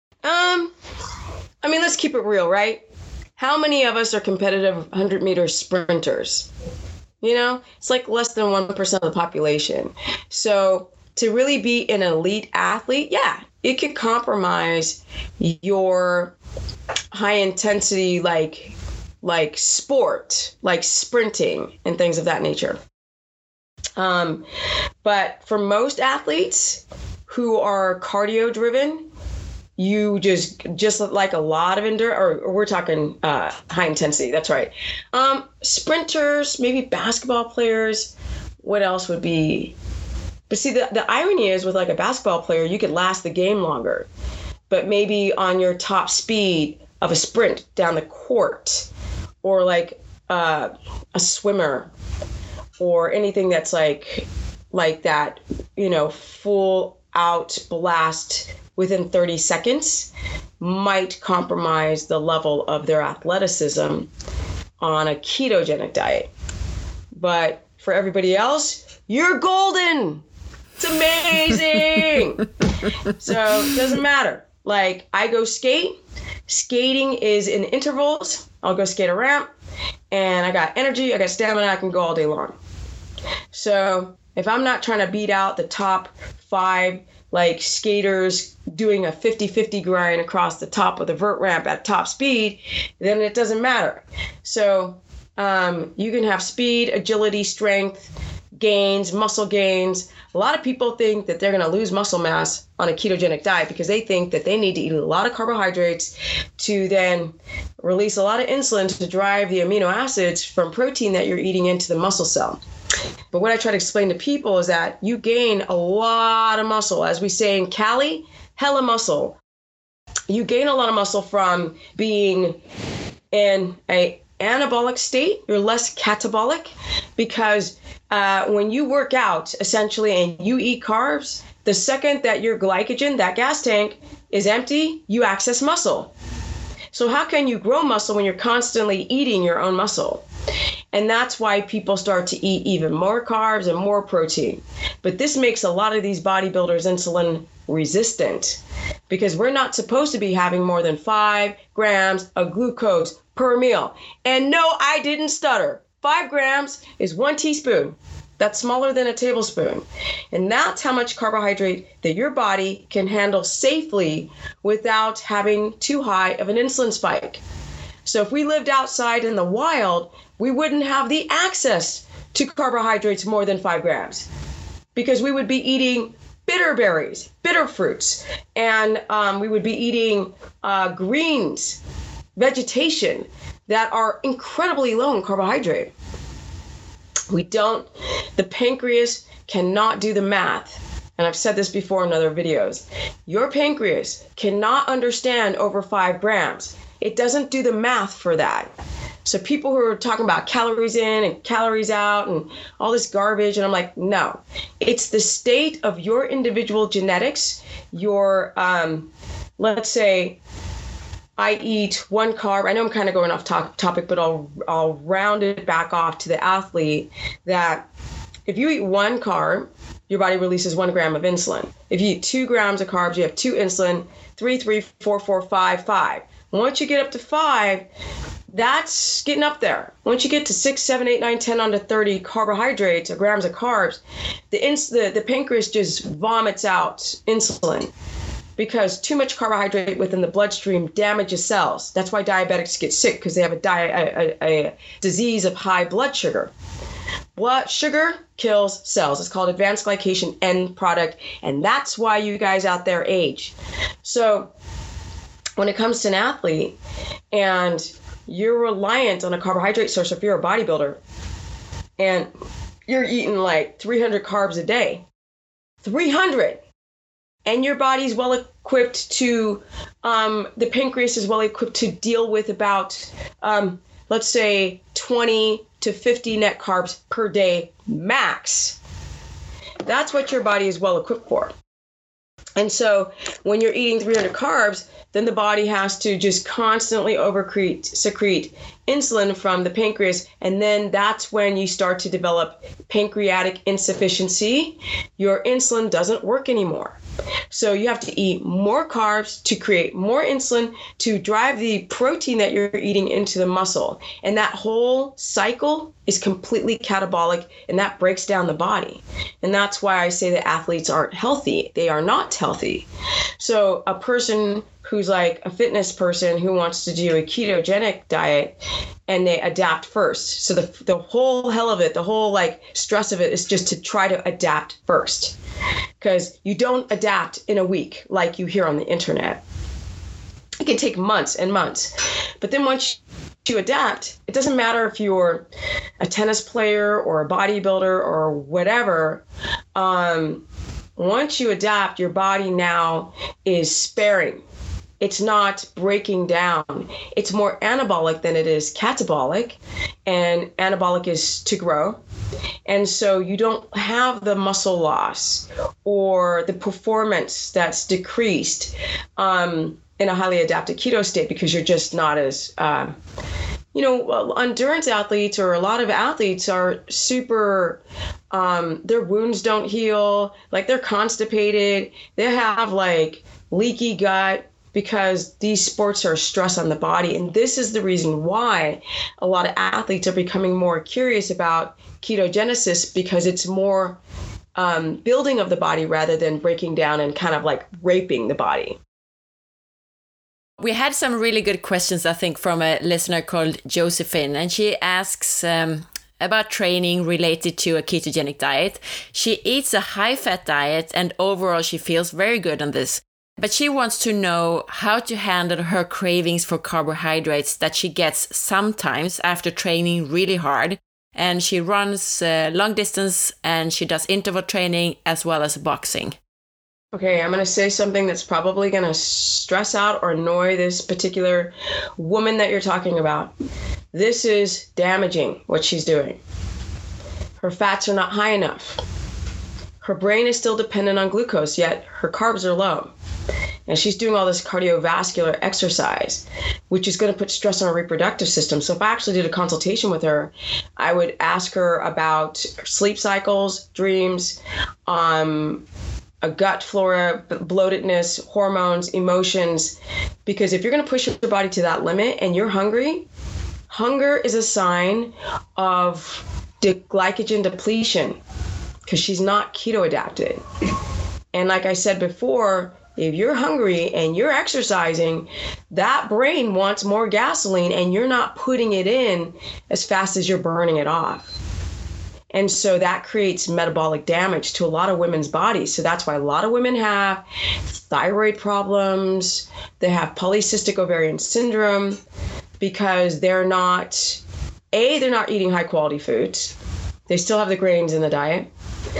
I mean, let's keep it real, right? How many of us are competitive 100-meter sprinters? It's like less than 1% of the population. So to really be an elite athlete, yeah, it can compromise your high intensity, like sport, like sprinting and things of that nature. But for most athletes who are cardio driven, you just like a lot of or we're talking high intensity. That's right. Sprinters, maybe basketball players. What else would be? But see, the irony is with like a basketball player, you could last the game longer, but maybe on your top speed of a sprint down the court, or like a swimmer, or anything that's like that, full out blast within 30 seconds might compromise the level of their athleticism on a ketogenic diet. But for everybody else, you're golden. It's amazing. So it doesn't matter. Like, I go skate. Skating is in intervals. I'll go skate a ramp, and I got energy, I got stamina, I can go all day long. So if I'm not trying to beat out the top 5 like skaters doing a 50-50 grind across the top of the vert ramp at top speed, then it doesn't matter. So you can have speed, agility, strength gains, muscle gains. A lot of people think that they're going to lose muscle mass on a ketogenic diet because they think that they need to eat a lot of carbohydrates to then release a lot of insulin to drive the amino acids from protein that you're eating into the muscle cell. But what I try to explain to people is that you gain a lot of muscle. As we say in Cali, hella muscle. You gain a lot of muscle from being in a anabolic state. You're less catabolic because when you work out, essentially, and you eat carbs, the second that your glycogen, that gas tank, is empty, you access muscle. So how can you grow muscle when you're constantly eating your own muscle? And that's why people start to eat even more carbs and more protein. But this makes a lot of these bodybuilders insulin resistant because we're not supposed to be having more than 5 grams of glucose per meal. And no, I didn't stutter. 5 grams is 1 teaspoon. That's smaller than a tablespoon. And that's how much carbohydrate that your body can handle safely without having too high of an insulin spike. So if we lived outside in the wild, we wouldn't have the access to carbohydrates more than 5 grams because we would be eating bitter berries, bitter fruits, and we would be eating greens, vegetation that are incredibly low in carbohydrate. The pancreas cannot do the math. And I've said this before in other videos. Your pancreas cannot understand over 5 grams. It doesn't do the math for that. So people who are talking about calories in and calories out and all this garbage, and I'm like, no. It's the state of your individual genetics, your, let's say, I eat 1 carb. I know I'm kind of going off topic, but I'll round it back off to the athlete that if you eat 1 carb, your body releases 1 gram of insulin. If you eat 2 grams of carbs, you have 2 insulin, 3, 4, 4, 5, 5. Once you get up to 5, that's getting up there. Once you get to 6, 7, 8, 9, 10 onto 30 carbohydrates or grams of carbs, the pancreas just vomits out insulin because too much carbohydrate within the bloodstream damages cells. That's why diabetics get sick, because they have a disease of high blood sugar. Blood sugar kills cells. It's called advanced glycation end product, and that's why you guys out there age. So when it comes to an athlete and you're reliant on a carbohydrate source, if you're a bodybuilder and you're eating like 300 carbs a day, 300, and your body's well equipped to, the pancreas is well equipped to deal with about, let's say 20 to 50 net carbs per day max. That's what your body is well equipped for. And so when you're eating 300 carbs, then the body has to just constantly secrete insulin from the pancreas. And then that's when you start to develop pancreatic insufficiency. Your insulin doesn't work anymore. So you have to eat more carbs to create more insulin to drive the protein that you're eating into the muscle. And that whole cycle is completely catabolic, and that breaks down the body. And that's why I say that athletes aren't healthy. They are not healthy. So a person who's like a fitness person who wants to do a ketogenic diet and they adapt first. So the whole hell of it, the whole like stress of it is just to try to adapt first. Because you don't adapt in a week like you hear on the internet. It can take months and months. But then once you adapt, it doesn't matter if you're a tennis player or a bodybuilder or whatever. Once you adapt, your body now is sparing. It's not breaking down. It's more anabolic than it is catabolic. And anabolic is to grow. And so you don't have the muscle loss or the performance that's decreased in a highly adapted keto state because you're just not as, endurance athletes or a lot of athletes are super, their wounds don't heal, like they're constipated, they have like leaky gut, because these sports are stress on the body. And this is the reason why a lot of athletes are becoming more curious about ketogenesis, because it's more building of the body rather than breaking down and kind of like raping the body. We had some really good questions, I think, from a listener called Josephine, and she asks about training related to a ketogenic diet. She eats a high-fat diet, and overall she feels very good on this. But she wants to know how to handle her cravings for carbohydrates that she gets sometimes after training really hard. And she runs long distance and she does interval training as well as boxing. Okay, I'm going to say something that's probably going to stress out or annoy this particular woman that you're talking about. This is damaging what she's doing. Her fats are not high enough. Her brain is still dependent on glucose, yet her carbs are low. and she's doing all this cardiovascular exercise, which is going to put stress on her reproductive system. So if I actually did a consultation with her, I would ask her about sleep cycles, dreams, a gut flora, bloatedness, hormones, emotions, because if you're going to push your body to that limit and you're hungry, hunger is a sign of glycogen depletion because she's not keto adapted. And like I said before, if you're hungry and you're exercising, that brain wants more gasoline and you're not putting it in as fast as you're burning it off. And so that creates metabolic damage to a lot of women's bodies. So that's why a lot of women have thyroid problems. They have polycystic ovarian syndrome because they're not eating high quality foods. They still have the grains in the diet.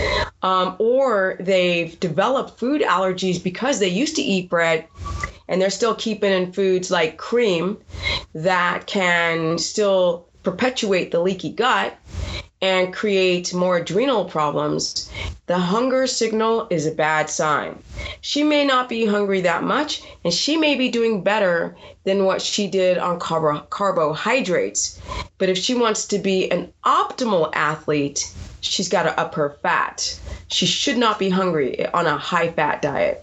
Or they've developed food allergies because they used to eat bread and they're still keeping in foods like cream that can still perpetuate the leaky gut and create more adrenal problems. The hunger signal is a bad sign. She may not be hungry that much, and she may be doing better than what she did on carbohydrates. But if she wants to be an optimal athlete, she's got to up her fat. She should not be hungry on a high-fat diet.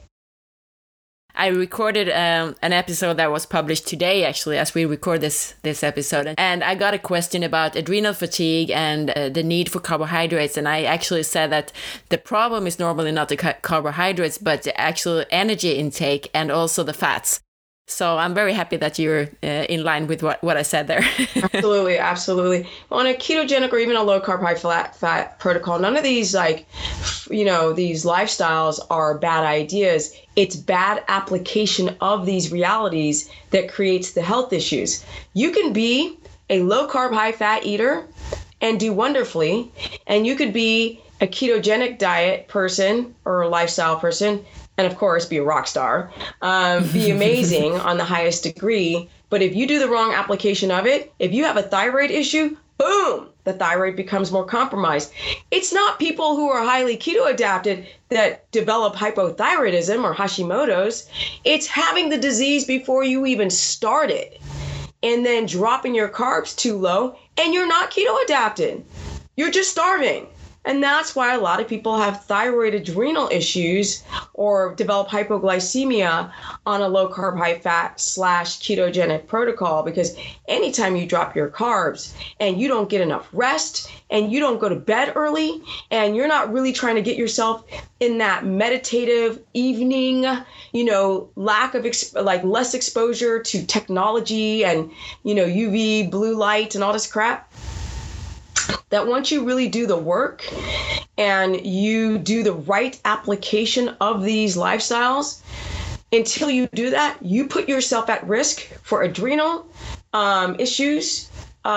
I recorded an episode that was published today, actually, as we record this episode. And I got a question about adrenal fatigue and the need for carbohydrates. And I actually said that the problem is normally not the carbohydrates, but the actual energy intake and also the fats. So I'm very happy that you're in line with what I said there. Absolutely, absolutely. On a ketogenic or even a low carb, high fat protocol, none of these these lifestyles are bad ideas. It's bad application of these realities that creates the health issues. You can be a low carb, high fat eater and do wonderfully, and you could be a ketogenic diet person or a lifestyle person, and of course, be a rock star, be amazing on the highest degree. But if you do the wrong application of it, if you have a thyroid issue, boom, the thyroid becomes more compromised. It's not people who are highly keto adapted that develop hypothyroidism or Hashimoto's. It's having the disease before you even started and then dropping your carbs too low, and you're not keto adapted. You're just starving. And that's why a lot of people have thyroid adrenal issues or develop hypoglycemia on a low carb, high fat / ketogenic protocol, because anytime you drop your carbs and you don't get enough rest and you don't go to bed early and you're not really trying to get yourself in that meditative evening, lack of less exposure to technology and, UV blue light and all this crap, that once you really do the work and you do the right application of these lifestyles, until you do that, you put yourself at risk for adrenal issues,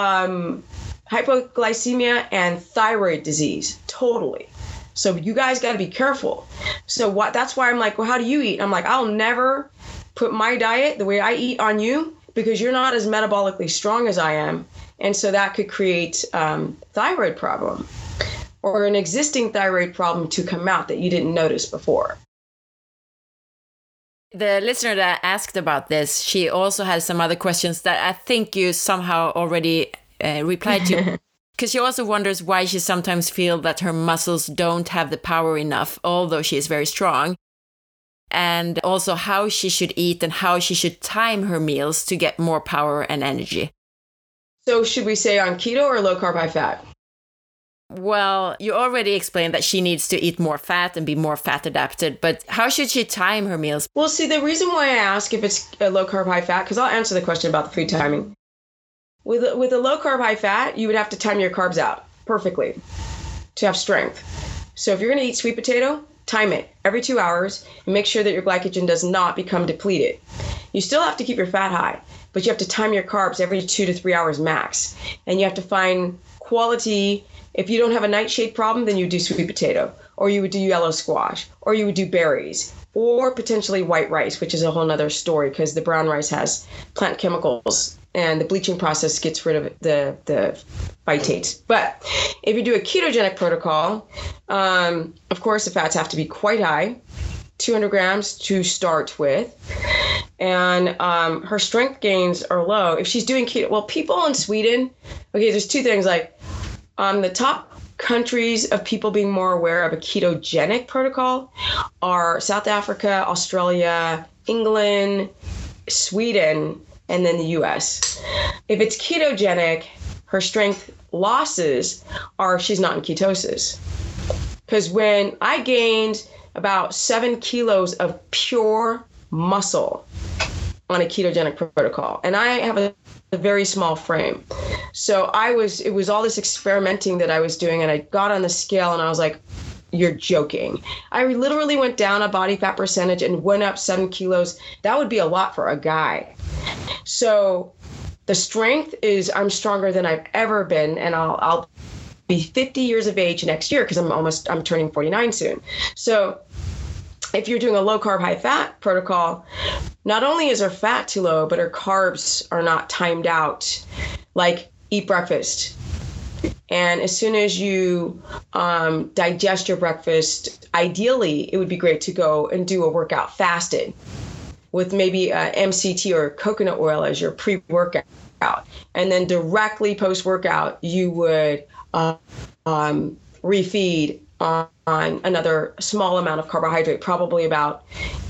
hypoglycemia, and thyroid disease, totally. So you guys got to be careful. So that's why I'm like, well, how do you eat? I'm like, I'll never put my diet the way I eat on you because you're not as metabolically strong as I am. And so that could create thyroid problem or an existing thyroid problem to come out that you didn't notice before. The listener that asked about this, she also has some other questions that I think you somehow already replied to. Because she also wonders why she sometimes feels that her muscles don't have the power enough, although she is very strong. And also how she should eat and how she should time her meals to get more power and energy. So should we say on keto or low carb, high fat? Well, you already explained that she needs to eat more fat and be more fat adapted, but how should she time her meals? Well, see, the reason why I ask if it's a low carb, high fat, because I'll answer the question about the food timing. With a low carb, high fat, you would have to time your carbs out perfectly to have strength. So if you're going to eat sweet potato, time it every 2 hours and make sure that your glycogen does not become depleted. You still have to keep your fat high, but you have to time your carbs every 2 to 3 hours max. And you have to find quality. If you don't have a nightshade problem, then you do sweet potato, or you would do yellow squash, or you would do berries, or potentially white rice, which is a whole nother story because the brown rice has plant chemicals and the bleaching process gets rid of the phytates. But if you do a ketogenic protocol, of course, the fats have to be quite high. 200 grams to start with. And her strength gains are low. If she's doing keto, well, people in Sweden, okay, there's two things. Like the top countries of people being more aware of a ketogenic protocol are South Africa, Australia, England, Sweden, and then the US. If it's ketogenic, her strength losses are she's not in ketosis. Because when I gained about 7 kilos of pure muscle on a ketogenic protocol, and I have a very small frame. So it was all this experimenting that I was doing, and I got on the scale and I was like, you're joking. I literally went down a body fat percentage and went up 7 kilos. That would be a lot for a guy. So the strength is I'm stronger than I've ever been, and I'll be 50 years of age next year because I'm turning 49 soon. So if you're doing a low carb, high fat protocol, not only is her fat too low, but her carbs are not timed out. Like eat breakfast. And as soon as you digest your breakfast, ideally, it would be great to go and do a workout fasted with maybe MCT or coconut oil as your pre-workout. And then directly post-workout, you would refeed on another small amount of carbohydrate, probably about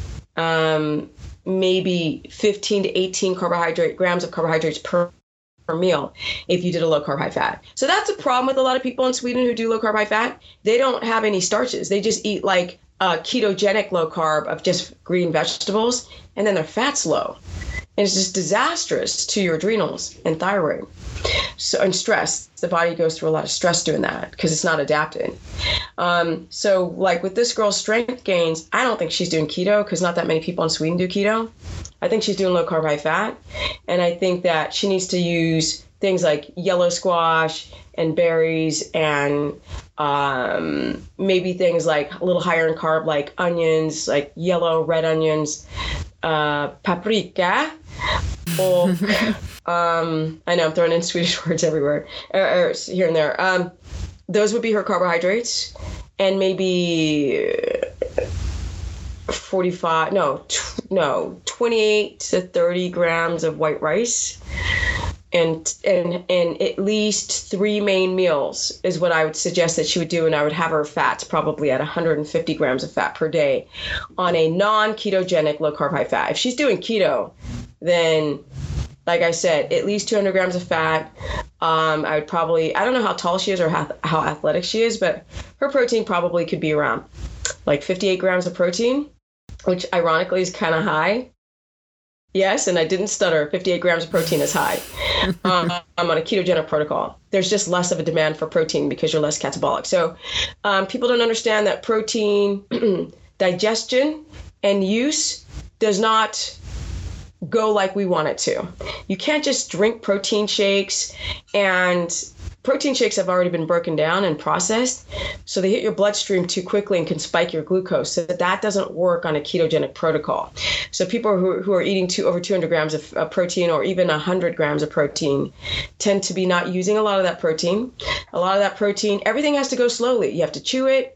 maybe 15 to 18 grams of carbohydrates per meal if you did a low carb, high fat. So that's a problem with a lot of people in Sweden who do low carb, high fat. They don't have any starches. They just eat like a ketogenic low carb of just green vegetables, and then their fat's low. And it's just disastrous to your adrenals and thyroid. So, and stress, the body goes through a lot of stress doing that because it's not adapted. So like with this girl's strength gains, I don't think she's doing keto because not that many people in Sweden do keto. I think she's doing low carb, high fat. And I think that she needs to use things like yellow squash and berries and maybe things like a little higher in carb, like onions, like yellow, red onions, paprika, or I know I'm throwing in Swedish words everywhere, or here and there. Those would be her carbohydrates, and maybe 28 to 30 grams of white rice, and at least 3 main meals is what I would suggest that she would do. And I would have her fats probably at 150 grams of fat per day on a non-ketogenic low carb, high fat. If she's doing keto, then like I said, at least 200 grams of fat. I would probably, I don't know how tall she is or how athletic she is, but her protein probably could be around like 58 grams of protein, which ironically is kind of high. Yes, and I didn't stutter. 58 grams of protein is high. I'm on a ketogenic protocol. There's just less of a demand for protein because you're less catabolic. So people don't understand that protein digestion and use does not go like we want it to. You can't just drink protein shakes, and protein shakes have already been broken down and processed, so they hit your bloodstream too quickly and can spike your glucose. So that doesn't work on a ketogenic protocol. So people who are eating over 200 grams of protein or even 100 grams of protein tend to be not using a lot of that protein. A lot of that protein, everything has to go slowly. You have to chew it,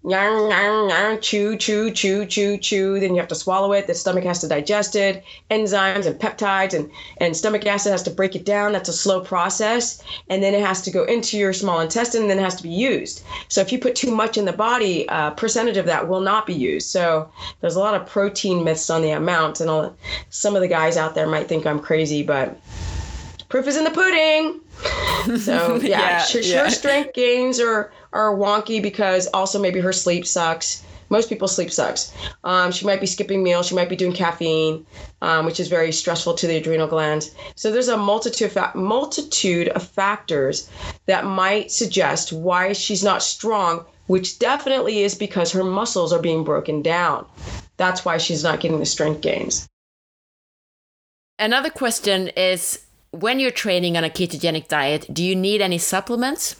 chew, then you have to swallow it. The stomach has to digest it, enzymes and peptides and stomach acid has to break it down. That's a slow process. And then it has to go into your small intestine, and then it has to be used. So if you put too much in the body, a percentage of that will not be used. So there's a lot of protein myths on the amount, and some of the guys out there might think I'm crazy, but proof is in the pudding. So yeah, her strength gains are wonky because also maybe her sleep sucks. Most people's sleep sucks. She might be skipping meals. She might be doing caffeine, which is very stressful to the adrenal glands. So there's a multitude of factors that might suggest why she's not strong, which definitely is because her muscles are being broken down. That's why she's not getting the strength gains. Another question is, when you're training on a ketogenic diet, do you need any supplements?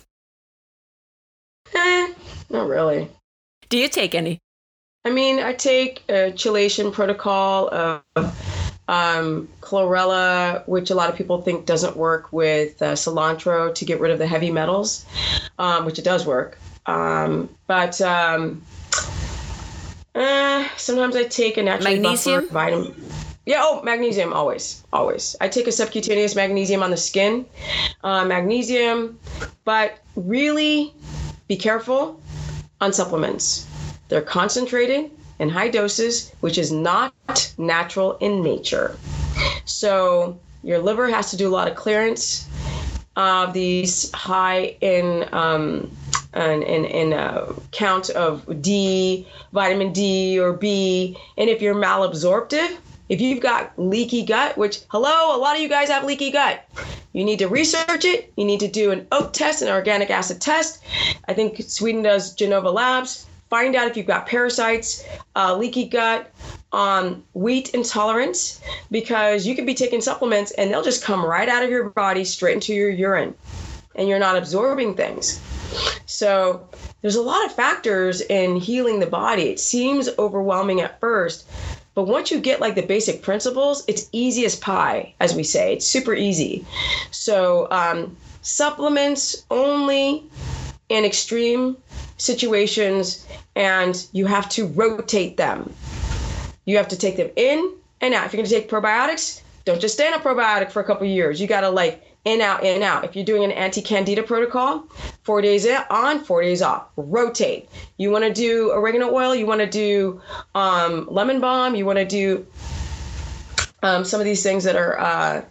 Not really. Do you take any? I mean, I take a chelation protocol of chlorella, which a lot of people think doesn't work, with cilantro to get rid of the heavy metals, which it does work. But Sometimes I take a naturally Magnesium? buffered vitamin. Yeah, magnesium, always. I take a subcutaneous magnesium on the skin, magnesium, but really be careful on supplements. They're concentrated in high doses, which is not natural in nature. So your liver has to do a lot of clearance of these high in count of D, vitamin D or B, and if you're malabsorptive, if you've got leaky gut, which, hello, a lot of you guys have leaky gut. You need to research it. You need to do an oat test, an organic acid test. I think Sweden does Genova Labs. Find out if you've got parasites, leaky gut, wheat intolerance, because you could be taking supplements and they'll just come right out of your body straight into your urine, and you're not absorbing things. So there's a lot of factors in healing the body. It seems overwhelming at first, but once you get like the basic principles, it's easy as pie, as we say. It's super easy. So supplements only in extreme situations, and you have to rotate them. You have to take them in and out. If you're going to take probiotics, don't just stay on a probiotic for a couple of years. You got to like in, out, in, out. If you're doing an anti-candida protocol, 4 days on, 4 days off. Rotate. You want to do oregano oil, you want to do lemon balm, you want to do some of these things that are,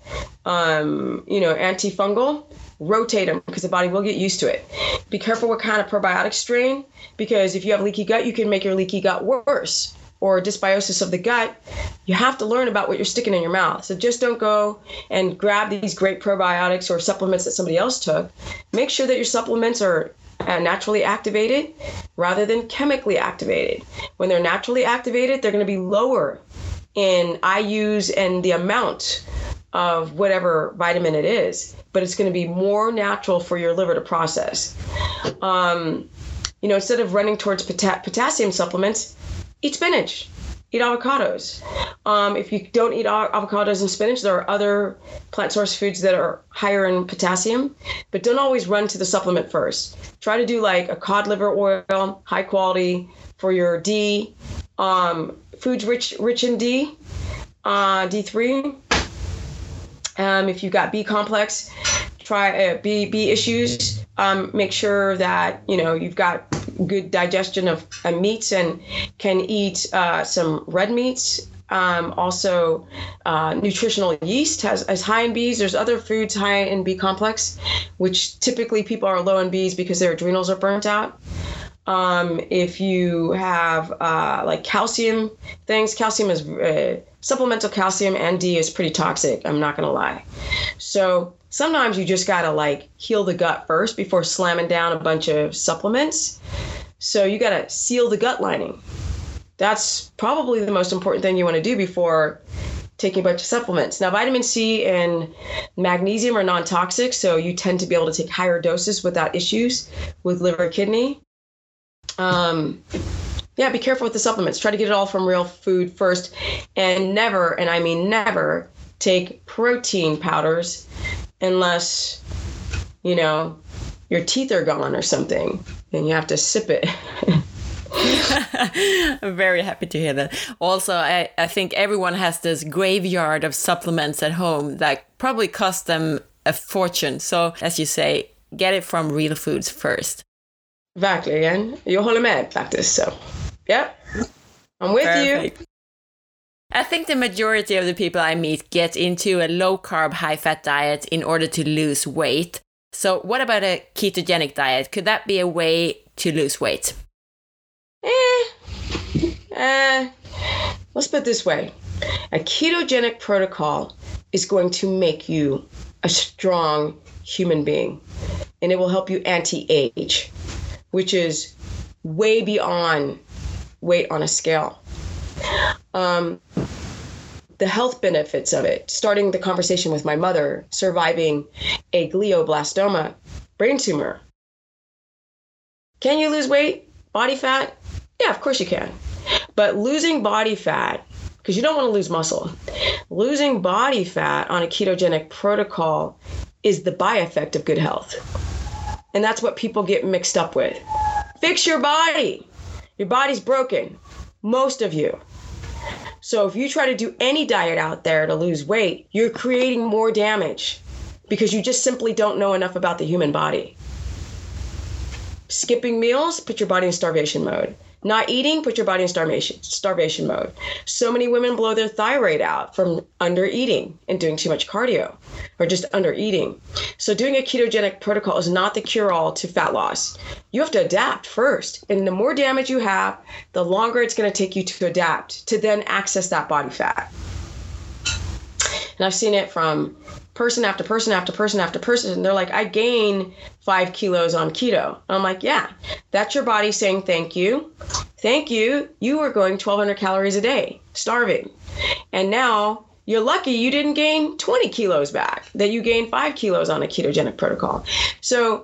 antifungal. Rotate them because the body will get used to it. Be careful what kind of probiotic strain, because if you have leaky gut, you can make your leaky gut worse, or dysbiosis of the gut. You have to learn about what you're sticking in your mouth. So just don't go and grab these great probiotics or supplements that somebody else took. Make sure that your supplements are naturally activated rather than chemically activated. When they're naturally activated, they're going to be lower in IUs and the amount of whatever vitamin it is, but it's going to be more natural for your liver to process. Instead of running towards potassium supplements, eat spinach, eat avocados. If you don't eat avocados and spinach, there are other plant source foods that are higher in potassium, but don't always run to the supplement first. Try to do like a cod liver oil, high quality for your D, foods rich in D, D3. If you've got B complex, try B issues. Make sure that you've got good digestion of meats and can eat some red meats. Also, nutritional yeast is high in Bs. There's other foods high in B complex, which typically people are low in Bs because their adrenals are burnt out. If you have like calcium things, calcium is supplemental calcium and D is pretty toxic. I'm not going to lie. So sometimes you just got to like heal the gut first before slamming down a bunch of supplements. So you got to seal the gut lining. That's probably the most important thing you want to do before taking a bunch of supplements. Now, vitamin C and magnesium are non-toxic, so you tend to be able to take higher doses without issues with liver, kidney. Be careful with the supplements. Try to get it all from real food first, and never, and I mean never, take protein powders unless, your teeth are gone or something, and you have to sip it. I'm very happy to hear that. Also, I think everyone has this graveyard of supplements at home that probably cost them a fortune. So, as you say, get it from real foods first. Verkligen. Jag håller med faktiskt. So, yeah, I'm with Perfect. you. I think the majority of the people I meet get into a low-carb, high-fat diet in order to lose weight. So what about a ketogenic diet? Could that be a way to lose weight? Let's put it this way. A ketogenic protocol is going to make you a strong human being, and it will help you anti-age, which is way beyond weight on a scale. The health benefits of it, starting the conversation with my mother, surviving a glioblastoma brain tumor. Can you lose weight? Body fat? Yeah, of course you can. But losing body fat, because you don't want to lose muscle, losing body fat on a ketogenic protocol is the byeffect of good health. And that's what people get mixed up with. Fix your body. Your body's broken. Most of you. So if you try to do any diet out there to lose weight, you're creating more damage because you just simply don't know enough about the human body. Skipping meals, put your body in starvation mode. Not eating, put your body in starvation mode. So many women blow their thyroid out from under eating and doing too much cardio or just under eating. So doing a ketogenic protocol is not the cure-all to fat loss. You have to adapt first. And the more damage you have, the longer it's going to take you to adapt to then access that body fat. And I've seen it from person after person after person after person. And they're like, I gain 5 kilos on keto. And I'm like, yeah, that's your body saying thank you. Thank you. You were going 1,200 calories a day, starving. And now you're lucky you didn't gain 20 kilos back, that you gained 5 kilos on a ketogenic protocol. So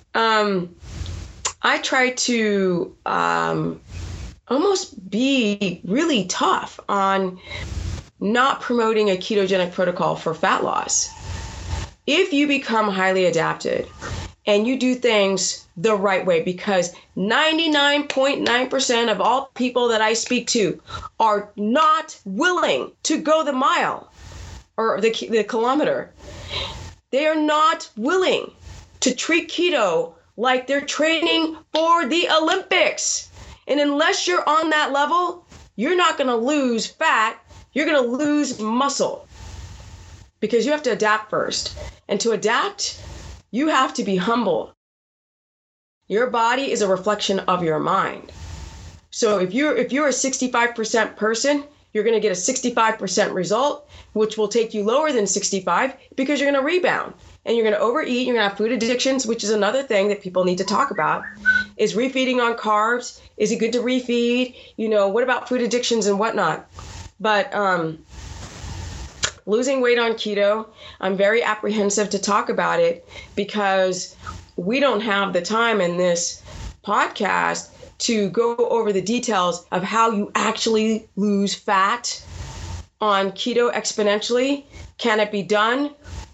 I try to almost be really tough on not promoting a ketogenic protocol for fat loss. If you become highly adapted and you do things the right way, because 99.9% of all people that I speak to are not willing to go the mile or the kilometer. They are not willing to treat keto like they're training for the Olympics. And unless you're on that level, you're not going to lose fat. You're going to lose muscle because you have to adapt first. And to adapt, you have to be humble. Your body is a reflection of your mind. So if you're a 65% person, you're going to get a 65% result, which will take you lower than 65 because you're going to rebound and you're going to overeat. You're going to have food addictions, which is another thing that people need to talk about. Is refeeding on carbs? Is it good to refeed? What about food addictions and whatnot? But losing weight on keto, I'm very apprehensive to talk about it because we don't have the time in this podcast to go over the details of how you actually lose fat on keto exponentially. Can it be done?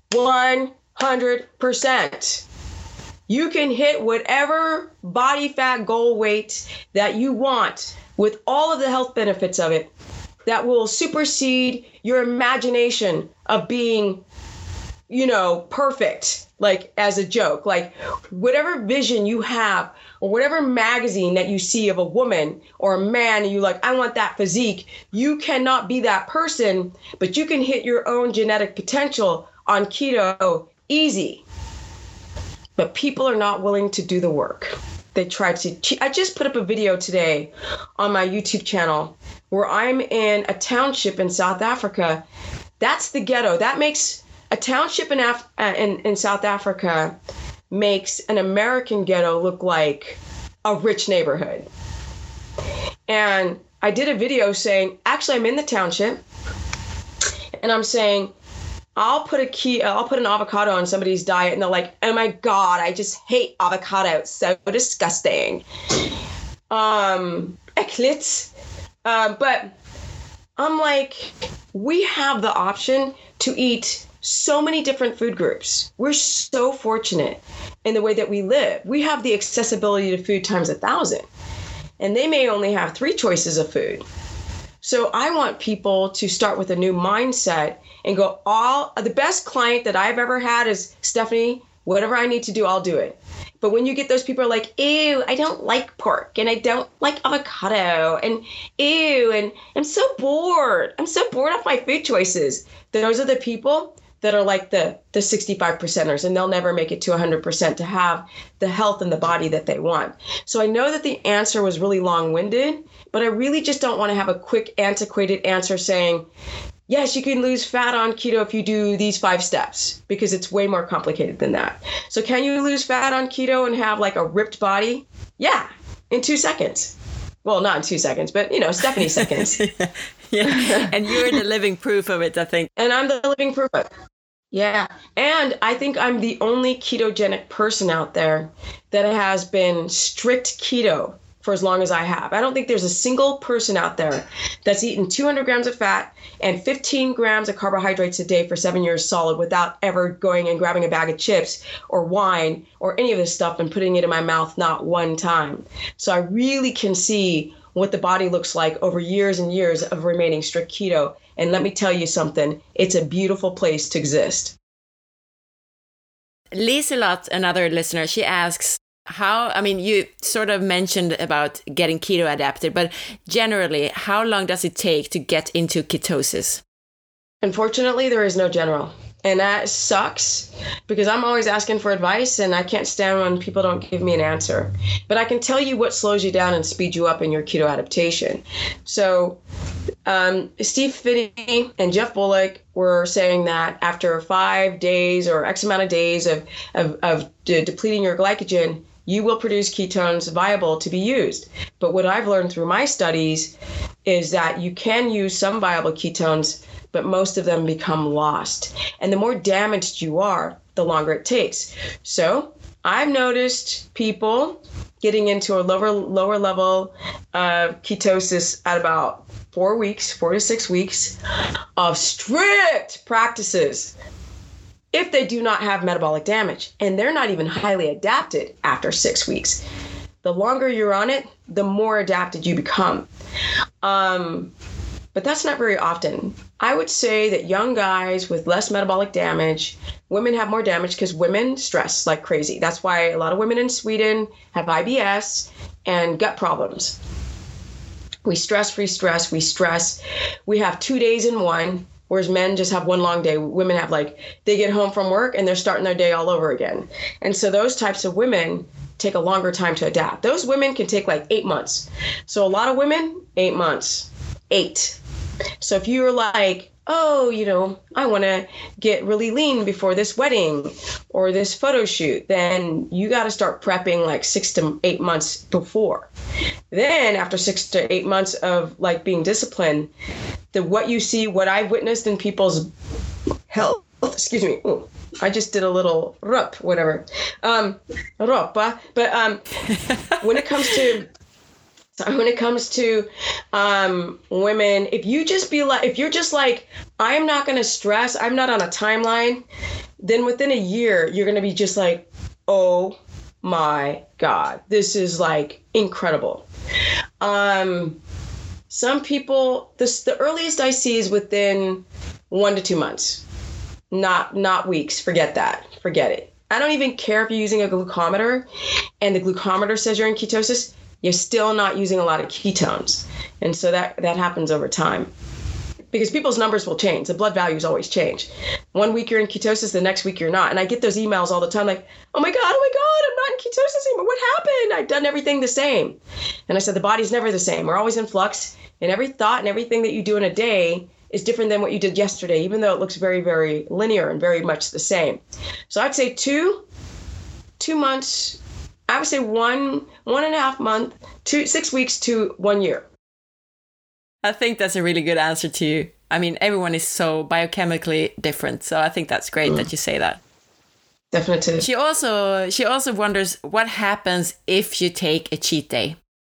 100%. You can hit whatever body fat goal weight that you want with all of the health benefits of it that will supersede your imagination of being, perfect, like as a joke, like whatever vision you have or whatever magazine that you see of a woman or a man and you like, I want that physique. You cannot be that person, but you can hit your own genetic potential on keto easy. But people are not willing to do the work. They try to. I just put up a video today on my YouTube channel where I'm in a township in South Africa. That's the ghetto. That makes a township in South Africa makes an American ghetto look like a rich neighborhood. And I did a video saying, actually, I'm in the township, and I'm saying, I'll put an avocado on somebody's diet, and they're like, oh my God, I just hate avocado. It's so disgusting. Äckligt. But I'm like, we have the option to eat so many different food groups. We're so fortunate in the way that we live. We have the accessibility to food times 1,000. And they may only have 3 choices of food. So I want people to start with a new mindset and go, the best client that I've ever had is, Stephanie, whatever I need to do, I'll do it. But when you get those people are like, ew, I don't like pork and I don't like avocado and ew, and I'm so bored. I'm so bored of my food choices. Those are the people that are like the 65%ers, and they'll never make it to 100% to have the health and the body that they want. So I know that the answer was really long-winded, but I really just don't want to have a quick, antiquated answer saying, yes, you can lose fat on keto if you do these 5 steps, because it's way more complicated than that. So can you lose fat on keto and have like a ripped body? Yeah, in 2 seconds. Well, not in 2 seconds, but Stephanie seconds. Yeah. And you're the living proof of it, I think. And I'm the living proof of it. Yeah. And I think I'm the only ketogenic person out there that has been strict keto for as long as I have. I don't think there's a single person out there that's eaten 200 grams of fat and 15 grams of carbohydrates a day for 7 years solid without ever going and grabbing a bag of chips or wine or any of this stuff and putting it in my mouth, not one time. So I really can see what the body looks like over years and years of remaining strict keto. And let me tell you something, it's a beautiful place to exist. Liselot, another listener, she asks, you sort of mentioned about getting keto adapted, but generally, how long does it take to get into ketosis? Unfortunately, there is no general. And that sucks because I'm always asking for advice and I can't stand when people don't give me an answer. But I can tell you what slows you down and speeds you up in your keto adaptation. So Steve Phinney and Jeff Bullock were saying that after 5 days or X amount of days of depleting your glycogen, you will produce ketones viable to be used. But what I've learned through my studies is that you can use some viable ketones, but most of them become lost. And the more damaged you are, the longer it takes. So I've noticed people getting into a lower level of ketosis at about 4 to 6 weeks of strict practices if they do not have metabolic damage. And they're not even highly adapted after 6 weeks. The longer you're on it, the more adapted you become. But that's not very often. I would say that young guys with less metabolic damage, women have more damage because women stress like crazy. That's why a lot of women in Sweden have IBS and gut problems. We stress. We have 2 days in one, whereas men just have one long day. Women have they get home from work and they're starting their day all over again. And so those types of women take a longer time to adapt. Those women can take 8 months. So a lot of women, 8 months. 8. So if you're I want to get really lean before this wedding or this photo shoot, then you got to start prepping 6 to 8 months before. Then after 6 to 8 months of being disciplined, what I've witnessed in people's health, excuse me. Ooh, I just did a little rup, whatever. Ropa. But when it comes to women, if you're just I'm not going to stress, I'm not on a timeline, then within a year, you're going to be just oh my God, this is incredible. Some people, the earliest I see is within 1 to 2 months, not weeks. Forget that. Forget it. I don't even care if you're using a glucometer and the glucometer says you're in ketosis. You're still not using a lot of ketones. And so that happens over time because people's numbers will change. The blood values always change. 1 week you're in ketosis, the next week you're not. And I get those emails all the time oh my God, I'm not in ketosis anymore. What happened? I've done everything the same. And I said, the body's never the same. We're always in flux. And every thought and everything that you do in a day is different than what you did yesterday, even though it looks very, very linear and very much the same. So I'd say 2 months. I would say 1.5 months, 6 weeks to 1 year. I think that's a really good answer to you. I mean, everyone is so biochemically different, so I think that's great that you say that. Definitely. She also wonders what happens if you take a cheat day.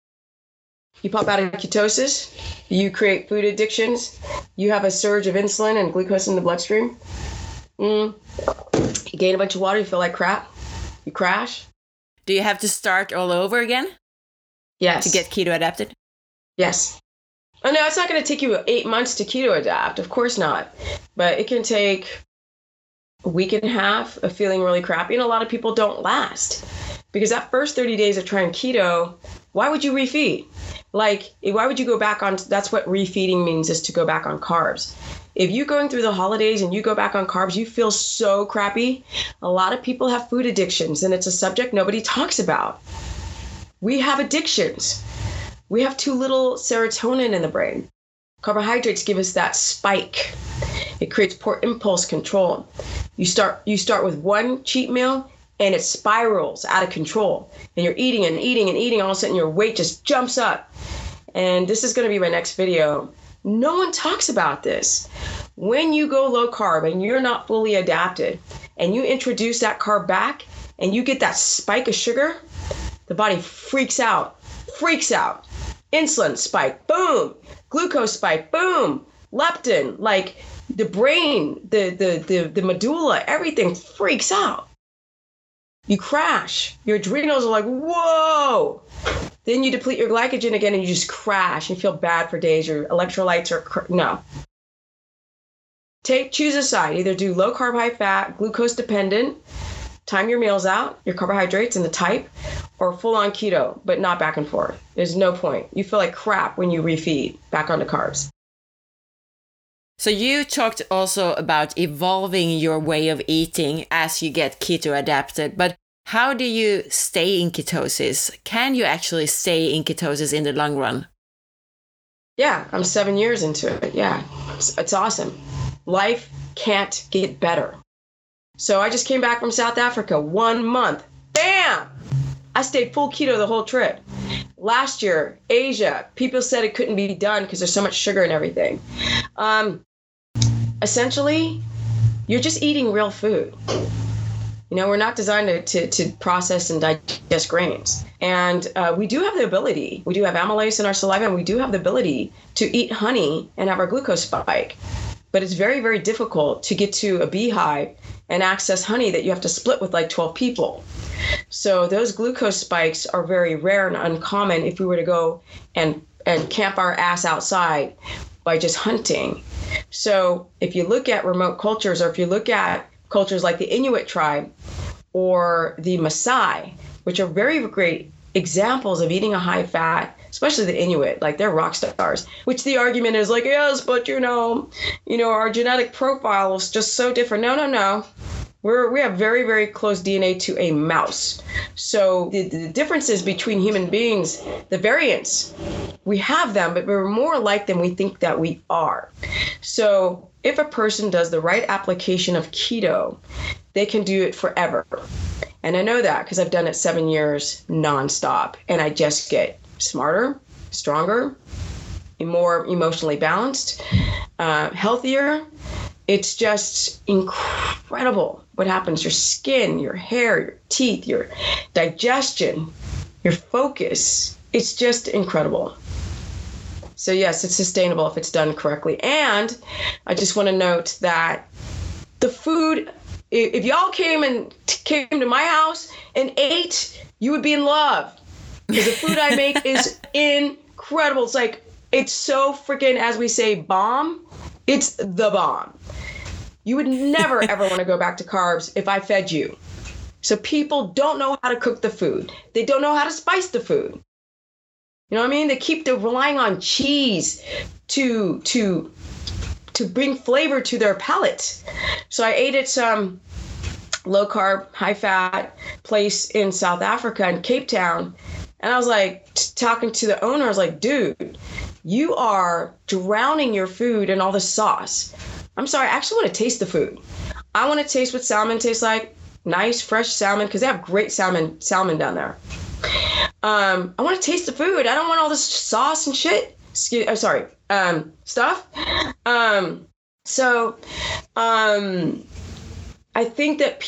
You pop out of ketosis, you create food addictions, you have a surge of insulin and glucose in the bloodstream. You gain a bunch of water, you feel like crap, you crash. Do you have to start all over again? Yes. To get keto adapted? Yes. Oh, no, it's not going to take you 8 months to keto adapt. Of course not. But it can take a week and a half of feeling really crappy. And a lot of people don't last. Because that first 30 days of trying keto, why would you refeed? Why would you go back on? That's what refeeding means, is to go back on carbs. If you're going through the holidays and you go back on carbs, you feel so crappy. A lot of people have food addictions, and it's a subject nobody talks about. We have addictions. We have too little serotonin in the brain. Carbohydrates give us that spike. It creates poor impulse control. You start with one cheat meal, and it spirals out of control. And you're eating and eating and eating. All of a sudden, your weight just jumps up. And this is going to be my next video. No one talks about this. When you go low carb and you're not fully adapted and you introduce that carb back and you get that spike of sugar, the body freaks out. Insulin spike, boom. Glucose spike, boom. Leptin, the brain, the medulla, everything freaks out. You crash. Your adrenals are whoa. then you deplete your glycogen again and you just crash and feel bad for days. Your electrolytes are, no. Choose a side. Either do low carb, high fat, glucose dependent, time your meals out, your carbohydrates and the type, or full on keto, but not back and forth. There's no point. You feel like crap when you refeed back onto carbs. So you talked also about evolving your way of eating as you get keto adapted, but how do you stay in ketosis? Can you actually stay in ketosis in the long run? Yeah, I'm 7 years into it. Yeah, it's awesome. Life can't get better. So I just came back from South Africa, 1 month. Bam! I stayed full keto the whole trip. Last year, Asia, people said it couldn't be done because there's so much sugar and everything. Essentially, you're just eating real food. You know, we're not designed to process and digest grains. And we do have the ability, we do have amylase in our saliva, and we do have the ability to eat honey and have our glucose spike. But it's very, very difficult to get to a beehive and access honey that you have to split with like 12 people. So those glucose spikes are very rare and uncommon if we were to go and camp our ass outside by just hunting. So if you look at remote cultures, or if you look at cultures like the Inuit tribe or the Maasai, which are very great examples of eating a high fat, especially the Inuit, like they're rock stars, which the argument is like, yes, but you know, our genetic profile is just so different. No. We have very, very close DNA to a mouse. So the differences between human beings, the variants, we have them, but we're more alike than we think that we are. So if a person does the right application of keto, they can do it forever. And I know that because I've done it 7 years nonstop, and I just get smarter, stronger, more emotionally balanced, healthier. It's just incredible what happens. Your skin, your hair, your teeth, your digestion, your focus. It's just incredible. So yes, it's sustainable if it's done correctly. And I just want to note that the food, if y'all came to my house and ate, you would be in love. Because the food I make is incredible. It's so freaking, as we say, bomb. It's the bomb. You would never, ever want to go back to carbs if I fed you. So people don't know how to cook the food. They don't know how to spice the food. You know what I mean? They keep relying on cheese to bring flavor to their palate. So I ate at some low carb, high fat place in South Africa in Cape Town. And I was like, talking to the owner, I was like, dude, you are drowning your food in all the sauce. I'm sorry, I actually want to taste the food. I want to taste what salmon tastes like. Nice, fresh salmon, because they have great salmon down there. I want to taste the food. I don't want all this sauce and shit. Stuff. I think that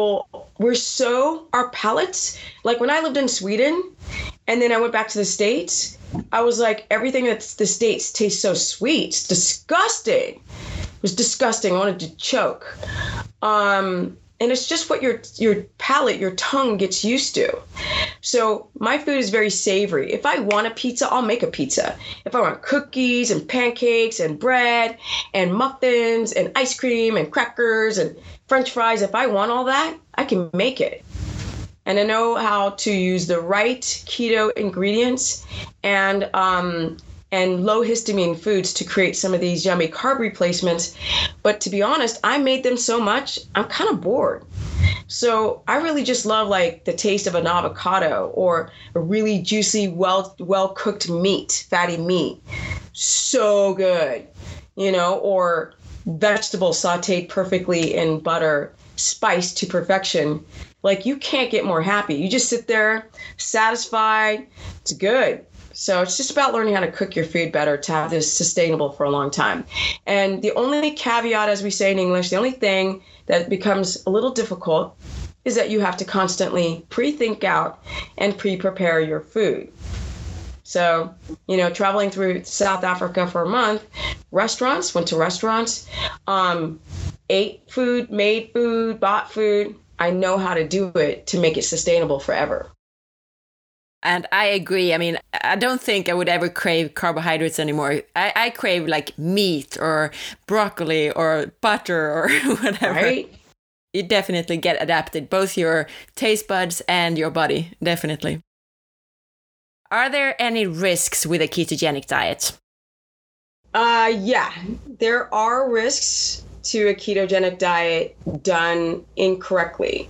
our palates, like when I lived in Sweden and then I went back to the States, I was like, everything that's the States tastes so sweet. It's disgusting. It was disgusting. I wanted to choke. And it's just what your palate, your tongue gets used to. So my food is very savory. If I want a pizza, I'll make a pizza. If I want cookies and pancakes and bread and muffins and ice cream and crackers and French fries, if I want all that, I can make it. And I know how to use the right keto ingredients and low histamine foods to create some of these yummy carb replacements. But to be honest, I made them so much, I'm kind of bored. So I really just love like the taste of an avocado or a really juicy, well cooked meat, fatty meat. So good, or vegetables sauteed perfectly in butter, spiced to perfection. Like you can't get more happy. You just sit there satisfied. It's good. So it's just about learning how to cook your food better to have this sustainable for a long time. And the only caveat, as we say in English, the only thing that becomes a little difficult is that you have to constantly pre-think out and pre-prepare your food. So, traveling through South Africa for a month, went to restaurants, ate food, made food, bought food. I know how to do it to make it sustainable forever. And I agree. I mean, I don't think I would ever crave carbohydrates anymore. I crave like meat or broccoli or butter or whatever. Right? You definitely get adapted, both your taste buds and your body, definitely. Are there any risks with a ketogenic diet? Yeah, there are risks to a ketogenic diet done incorrectly.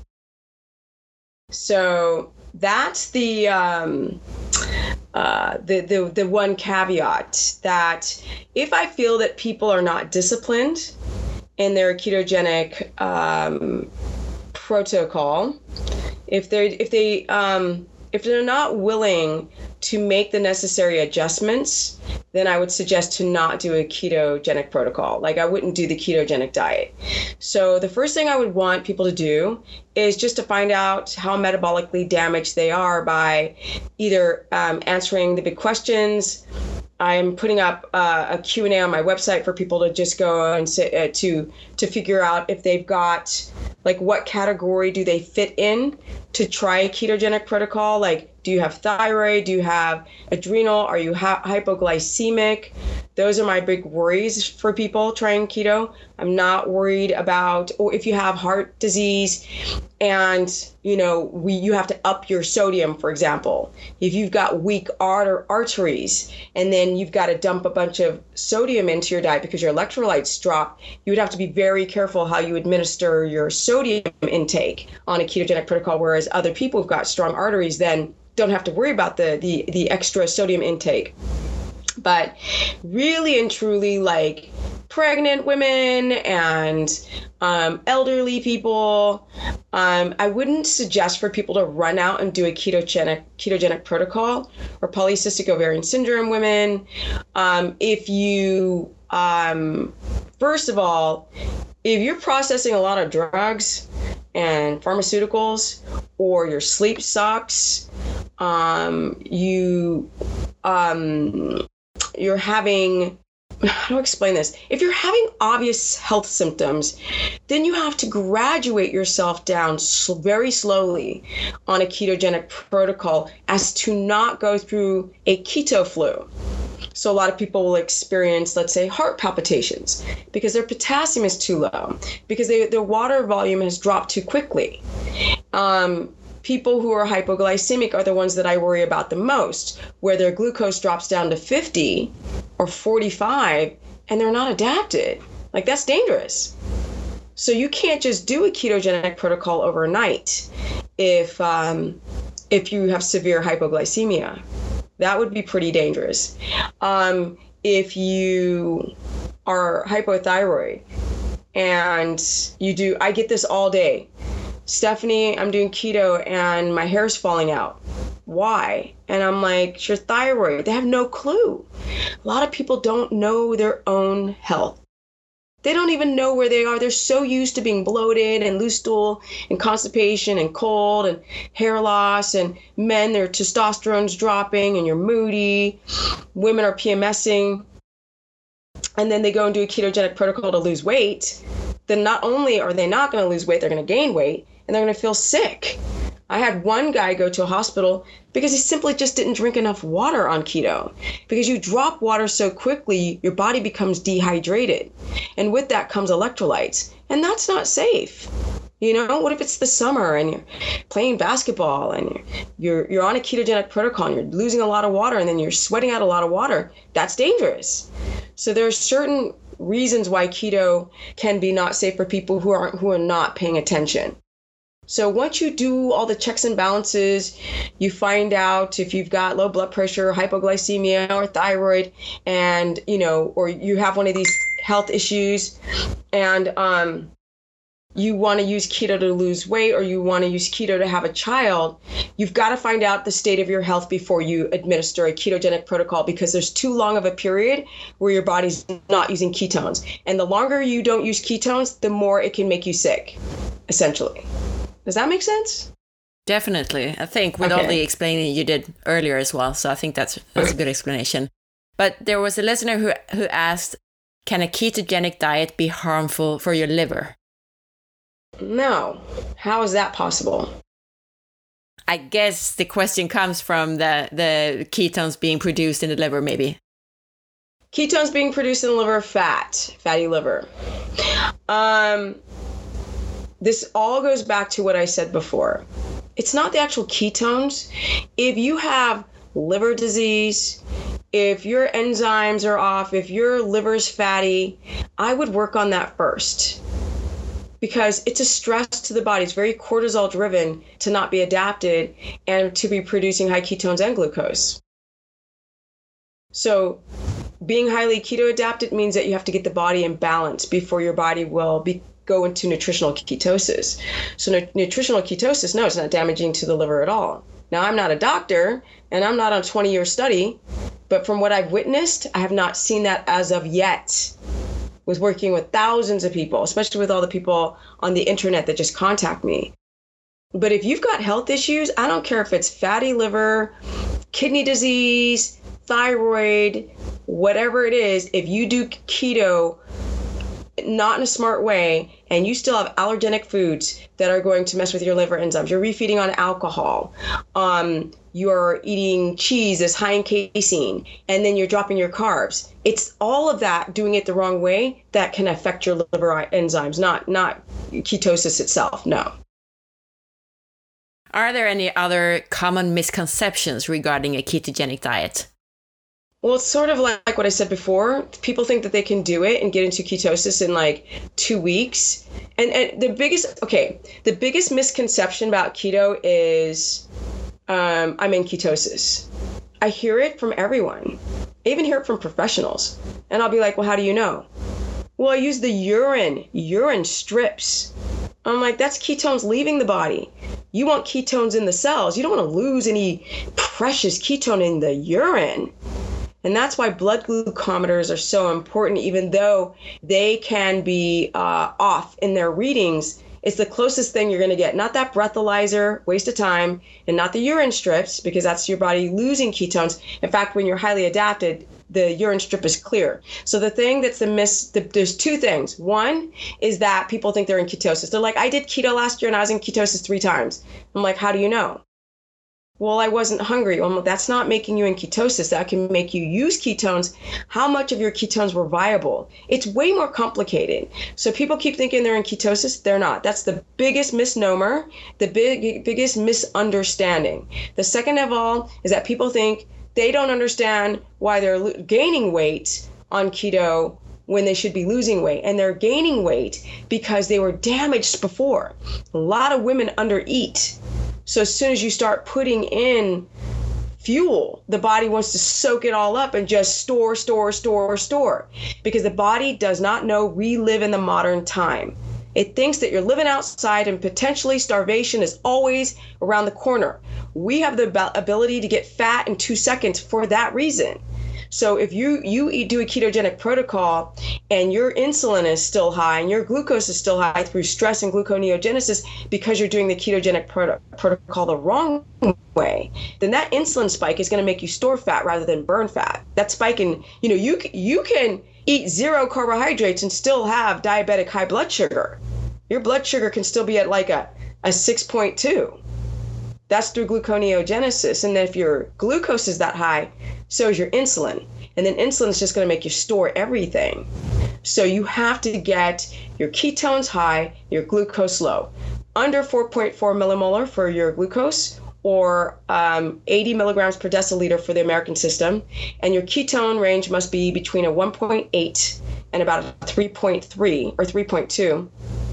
So that's the one caveat, that if I feel that people are not disciplined in their ketogenic protocol, if they're not willing to make the necessary adjustments, then I would suggest to not do a ketogenic protocol. Like, I wouldn't do the ketogenic diet. So the first thing I would want people to do is just to find out how metabolically damaged they are by either answering the big questions. I'm putting up a Q&A on my website for people to just go and say, to figure out if they've got, like, what category do they fit in to try a ketogenic protocol. Like, do you have thyroid? Do you have adrenal? Are you hypoglycemic? Those are my big worries for people trying keto. I'm not worried about, or if you have heart disease and, you have to up your sodium, for example. If you've got weak arteries and then you've got to dump a bunch of sodium into your diet because your electrolytes drop, you would have to be very careful how you administer your sodium intake on a ketogenic protocol, whereas other people who've got strong arteries then don't have to worry about the extra sodium intake. But really and truly, like, pregnant women and elderly people, I wouldn't suggest for people to run out and do a ketogenic protocol, or polycystic ovarian syndrome women. If you, first of all, if you're processing a lot of drugs and pharmaceuticals, or your sleep sucks, you're having, how do I explain this? If you're having obvious health symptoms, then you have to graduate yourself down very slowly on a ketogenic protocol as to not go through a keto flu. So a lot of people will experience, let's say, heart palpitations because their potassium is too low, because their water volume has dropped too quickly. People who are hypoglycemic are the ones that I worry about the most, where their glucose drops down to 50 or 45 and they're not adapted. Like, that's dangerous. So you can't just do a ketogenic protocol overnight if you have severe hypoglycemia. That would be pretty dangerous. If you are hypothyroid and I get this all day. Stephanie, I'm doing keto and my hair's falling out. Why? And I'm like, it's your thyroid. They have no clue. A lot of people don't know their own health. They don't even know where they are. They're so used to being bloated and loose stool and constipation and cold and hair loss. And men, their testosterone's dropping and you're moody. Women are PMSing. And then they go and do a ketogenic protocol to lose weight. Then not only are they not going to lose weight, they're going to gain weight and they're going to feel sick. I had one guy go to a hospital because he simply just didn't drink enough water on keto. Because you drop water so quickly, your body becomes dehydrated. And with that comes electrolytes. And that's not safe. What if it's the summer and you're playing basketball and you're on a ketogenic protocol and you're losing a lot of water and then you're sweating out a lot of water? That's dangerous. So there's certain reasons why keto can be not safe for people who are not paying attention. So once you do all the checks and balances, you find out if you've got low blood pressure, hypoglycemia, or thyroid, and or you have one of these health issues, and you want to use keto to lose weight, or you want to use keto to have a child, you've got to find out the state of your health before you administer a ketogenic protocol, because there's too long of a period where your body's not using ketones. And the longer you don't use ketones, the more it can make you sick, essentially. Does that make sense? Definitely. I think with all the explaining you did earlier as well. So I think that's a good explanation. But there was a listener who asked, can a ketogenic diet be harmful for your liver? No. How is that possible? I guess the question comes from the ketones being produced in the liver, maybe. Ketones being produced in the liver, fatty liver. This all goes back to what I said before. It's not the actual ketones. If you have liver disease, if your enzymes are off, if your liver's fatty, I would work on that first. Because it's a stress to the body. It's very cortisol driven to not be adapted and to be producing high ketones and glucose. So being highly keto adapted means that you have to get the body in balance before your body will go into nutritional ketosis. So nutritional ketosis, no, it's not damaging to the liver at all. Now, I'm not a doctor and I'm not on a 20-year study, but from what I've witnessed, I have not seen that as of yet. Was working with thousands of people, especially with all the people on the internet that just contact me. But if you've got health issues, I don't care if it's fatty liver, kidney disease, thyroid, whatever it is, if you do keto not in a smart way and you still have allergenic foods that are going to mess with your liver enzymes, you're refeeding on alcohol, you're eating cheese that's high in casein, and then you're dropping your carbs. It's all of that, doing it the wrong way, that can affect your liver enzymes, not ketosis itself, no. Are there any other common misconceptions regarding a ketogenic diet? Well, it's sort of like what I said before. People think that they can do it and get into ketosis in like 2 weeks. And the biggest misconception about keto is I'm in ketosis. I hear it from everyone. I even hear it from professionals. And I'll be like, well, how do you know? Well, I use the urine strips. I'm like, that's ketones leaving the body. You want ketones in the cells. You don't want to lose any precious ketone in the urine. And that's why blood glucometers are so important, even though they can be off in their readings. It's the closest thing you're going to get. Not that breathalyzer, waste of time, and not the urine strips, because that's your body losing ketones. In fact, when you're highly adapted, the urine strip is clear. So the thing that's there's two things. One is that people think they're in ketosis. They're like, I did keto last year and I was in ketosis 3 times. I'm like, how do you know? Well, I wasn't hungry. Well, that's not making you in ketosis. That can make you use ketones. How much of your ketones were viable? It's way more complicated. So people keep thinking they're in ketosis. They're not. That's the biggest misnomer, the biggest misunderstanding. The second of all is that people think they don't understand why they're gaining weight on keto when they should be losing weight. And they're gaining weight because they were damaged before. A lot of women undereat. So as soon as you start putting in fuel, the body wants to soak it all up and just store. Because the body does not know we live in the modern time. It thinks that you're living outside and potentially starvation is always around the corner. We have the ability to get fat in 2 seconds for that reason. So if you do a ketogenic protocol and your insulin is still high and your glucose is still high through stress and gluconeogenesis because you're doing the ketogenic protocol the wrong way, then that insulin spike is going to make you store fat rather than burn fat. That spike in, you can eat 0 carbohydrates and still have diabetic high blood sugar. Your blood sugar can still be at like a 6.2. That's through gluconeogenesis. And then if your glucose is that high, so is your insulin. And then insulin is just going to make you store everything. So you have to get your ketones high, your glucose low. Under 4.4 millimolar for your glucose, or 80 milligrams per deciliter for the American system. And your ketone range must be between a 1.8 and about a 3.3 or 3.2.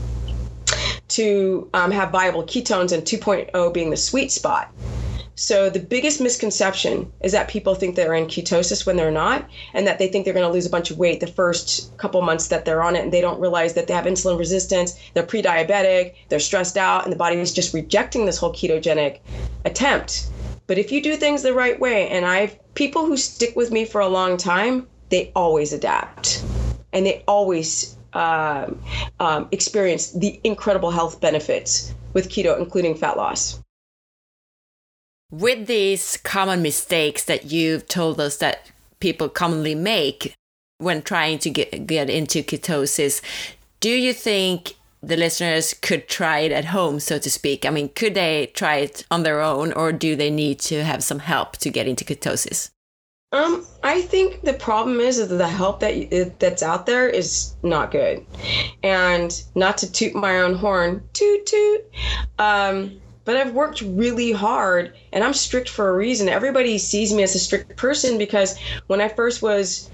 to have viable ketones, and 2.0 being the sweet spot. So the biggest misconception is that people think they're in ketosis when they're not, and that they think they're going to lose a bunch of weight the first couple months that they're on it, and they don't realize that they have insulin resistance, they're pre-diabetic, they're stressed out, and the body is just rejecting this whole ketogenic attempt. But if you do things the right way, and people who stick with me for a long time, they always adapt, and they always experience the incredible health benefits with keto, including fat loss. With these common mistakes that you've told us that people commonly make when trying to get into ketosis, do you think the listeners could try it at home, so to speak? I mean, could they try it on their own, or do they need to have some help to get into ketosis? I think the problem is that the help that's out there is not good. And not to toot my own horn, toot toot, but I've worked really hard, and I'm strict for a reason. Everybody sees me as a strict person because when I first was,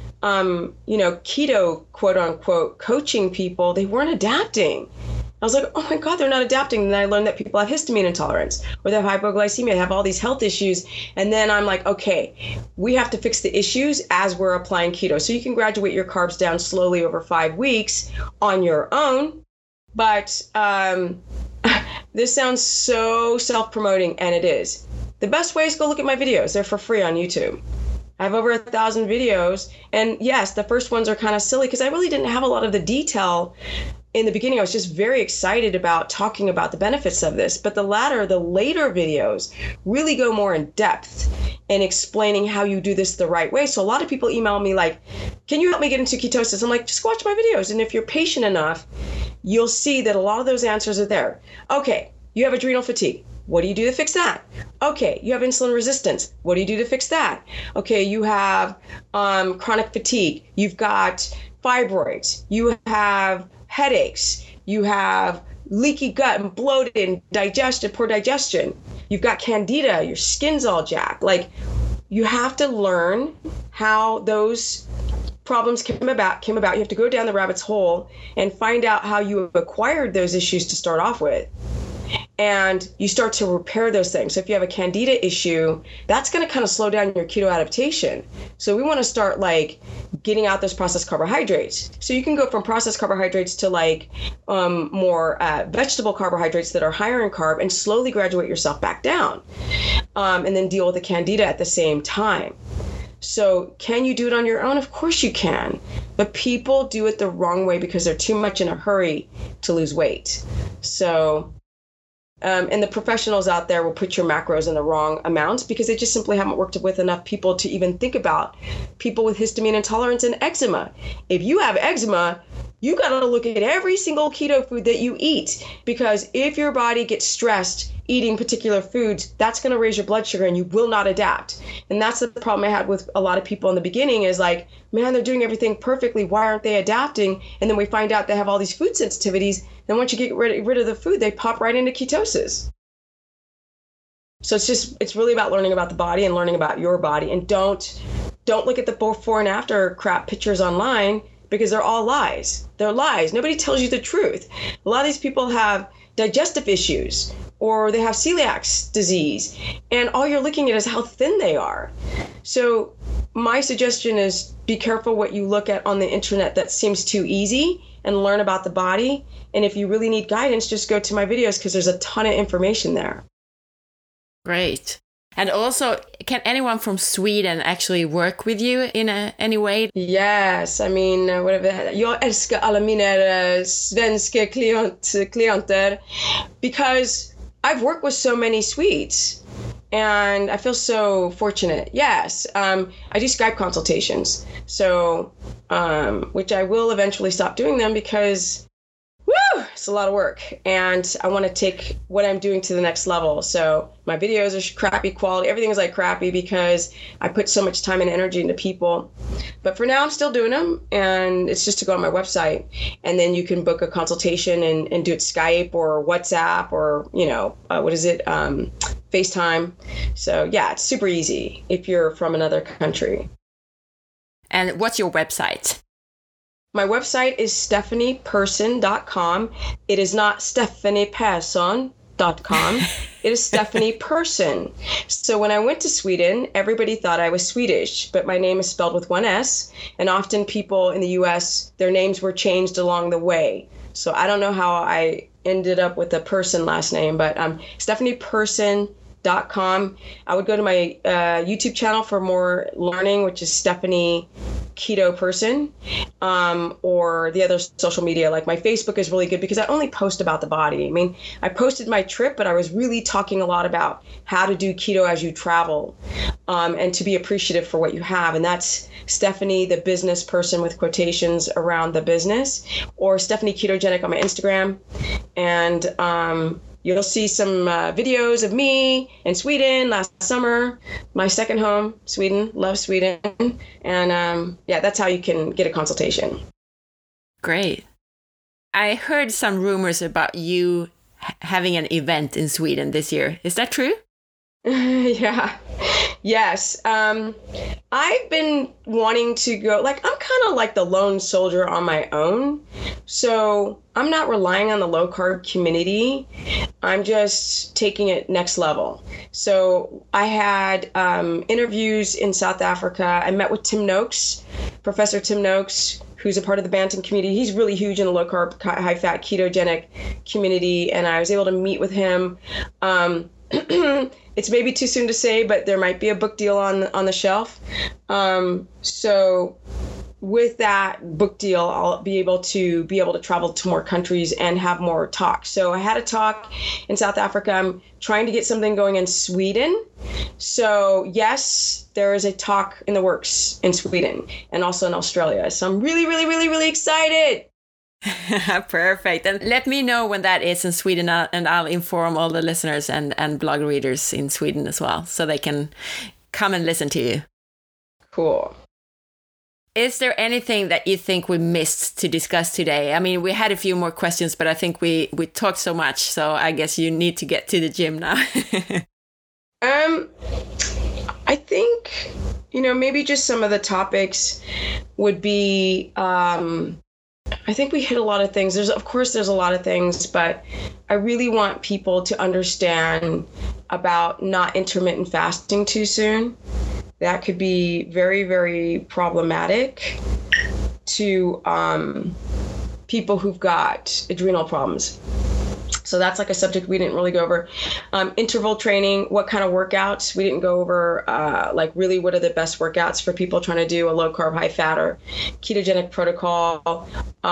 keto, quote unquote, coaching people, they weren't adapting. I was like, oh my God, they're not adapting. And then I learned that people have histamine intolerance or they have hypoglycemia, they have all these health issues. And then I'm like, okay, we have to fix the issues as we're applying keto. So you can graduate your carbs down slowly over 5 weeks on your own. But this sounds so self-promoting, and it is. The best way is go look at my videos. They're for free on YouTube. I have over 1,000 videos. And yes, the first ones are kind of silly because I really didn't have a lot of the detail. In the beginning, I was just very excited about talking about the benefits of this. But the later videos really go more in depth in explaining how you do this the right way. So a lot of people email me like, can you help me get into ketosis? I'm like, just watch my videos. And if you're patient enough, you'll see that a lot of those answers are there. Okay, you have adrenal fatigue. What do you do to fix that? Okay, you have insulin resistance. What do you do to fix that? Okay, you have chronic fatigue. You've got fibroids. You have headaches. You have leaky gut and bloated and poor digestion. You've got candida. Your skin's all jacked. Like, you have to learn how those problems came about. You have to go down the rabbit's hole and find out how you acquired those issues to start off with. And you start to repair those things. So if you have a candida issue, that's going to kind of slow down your keto adaptation. So we want to start like getting out those processed carbohydrates. So you can go from processed carbohydrates to like more vegetable carbohydrates that are higher in carb and slowly graduate yourself back down. And then deal with the candida at the same time. So can you do it on your own? Of course you can. But people do it the wrong way because they're too much in a hurry to lose weight. So and the professionals out there will put your macros in the wrong amounts because they just simply haven't worked with enough people to even think about people with histamine intolerance and eczema. If you have eczema, you got to look at every single keto food that you eat, because if your body gets stressed eating particular foods, that's going to raise your blood sugar and you will not adapt. And that's the problem I had with a lot of people in the beginning is like, man, they're doing everything perfectly. Why aren't they adapting? And then we find out they have all these food sensitivities. Then once you get rid of the food, they pop right into ketosis. So it's really about learning about the body and learning about your body. And don't look at the before and after crap pictures online because they're all lies. They're lies. Nobody tells you the truth. A lot of these people have digestive issues or they have celiac disease, and all you're looking at is how thin they are. So my suggestion is be careful what you look at on the internet that seems too easy, and learn about the body. And if you really need guidance, just go to my videos because there's a ton of information there. Great. And also, can anyone from Sweden actually work with you in any way? Yes, I mean, jag älskar alla mina svenska klienter because I've worked with so many Swedes and I feel so fortunate. Yes, I do Skype consultations, so which I will eventually stop doing them because it's a lot of work, and I want to take what I'm doing to the next level. So my videos are crappy quality. Everything is like crappy because I put so much time and energy into people. But for now, I'm still doing them, and it's just to go on my website, and then you can book a consultation and do it Skype or WhatsApp or, FaceTime. So yeah, it's super easy if you're from another country. And what's your website? My website is stephanieperson.com. It is not stephanieperson.com. It is Stephanie Persson. So when I went to Sweden, everybody thought I was Swedish, but my name is spelled with one S. And often people in the US, their names were changed along the way. So I don't know how I ended up with a Persson last name, but Stephanie Persson stephanieketoperson.com. I would go to my YouTube channel for more learning, which is Stephanie Keto Person, or the other social media. Like my Facebook is really good because I only post about the body. I mean, I posted my trip, but I was really talking a lot about how to do keto as you travel, and to be appreciative for what you have. And that's Stephanie, the business person, with quotations around the business, or Stephanie Ketogenic on my Instagram. And you'll see some videos of me in Sweden last summer, my second home, Sweden. Love Sweden. And yeah, that's how you can get a consultation. Great. I heard some rumors about you having an event in Sweden this year. Is that true? Yeah. Yes. I've been wanting to go, like, I'm kind of like the lone soldier on my own. So I'm not relying on the low carb community. I'm just taking it next level. So I had interviews in South Africa. I met with Tim Noakes, Professor Tim Noakes, who's a part of the Bantam community. He's really huge in the low carb, high fat, ketogenic community. And I was able to meet with him. It's maybe too soon to say, but there might be a book deal on the shelf. So with that book deal, I'll be able to travel to more countries and have more talks. So I had a talk in South Africa. I'm trying to get something going in Sweden. So yes, there is a talk in the works in Sweden and also in Australia. So I'm really, really, really, really excited. Perfect. And let me know when that is in Sweden, and I'll inform all the listeners and blog readers in Sweden as well, so they can come and listen to you. Cool. Is there anything that you think we missed to discuss today? I mean, we had a few more questions, but I think we talked so much, so I guess you need to get to the gym now. I think, maybe just some of the topics would be, I think we hit a lot of things. There's a lot of things, but I really want people to understand about not intermittent fasting too soon. That could be very, very problematic to people who've got adrenal problems. So that's like a subject we didn't really go over. Interval training, what kind of workouts? We didn't go over, really what are the best workouts for people trying to do a low carb, high fat or ketogenic protocol,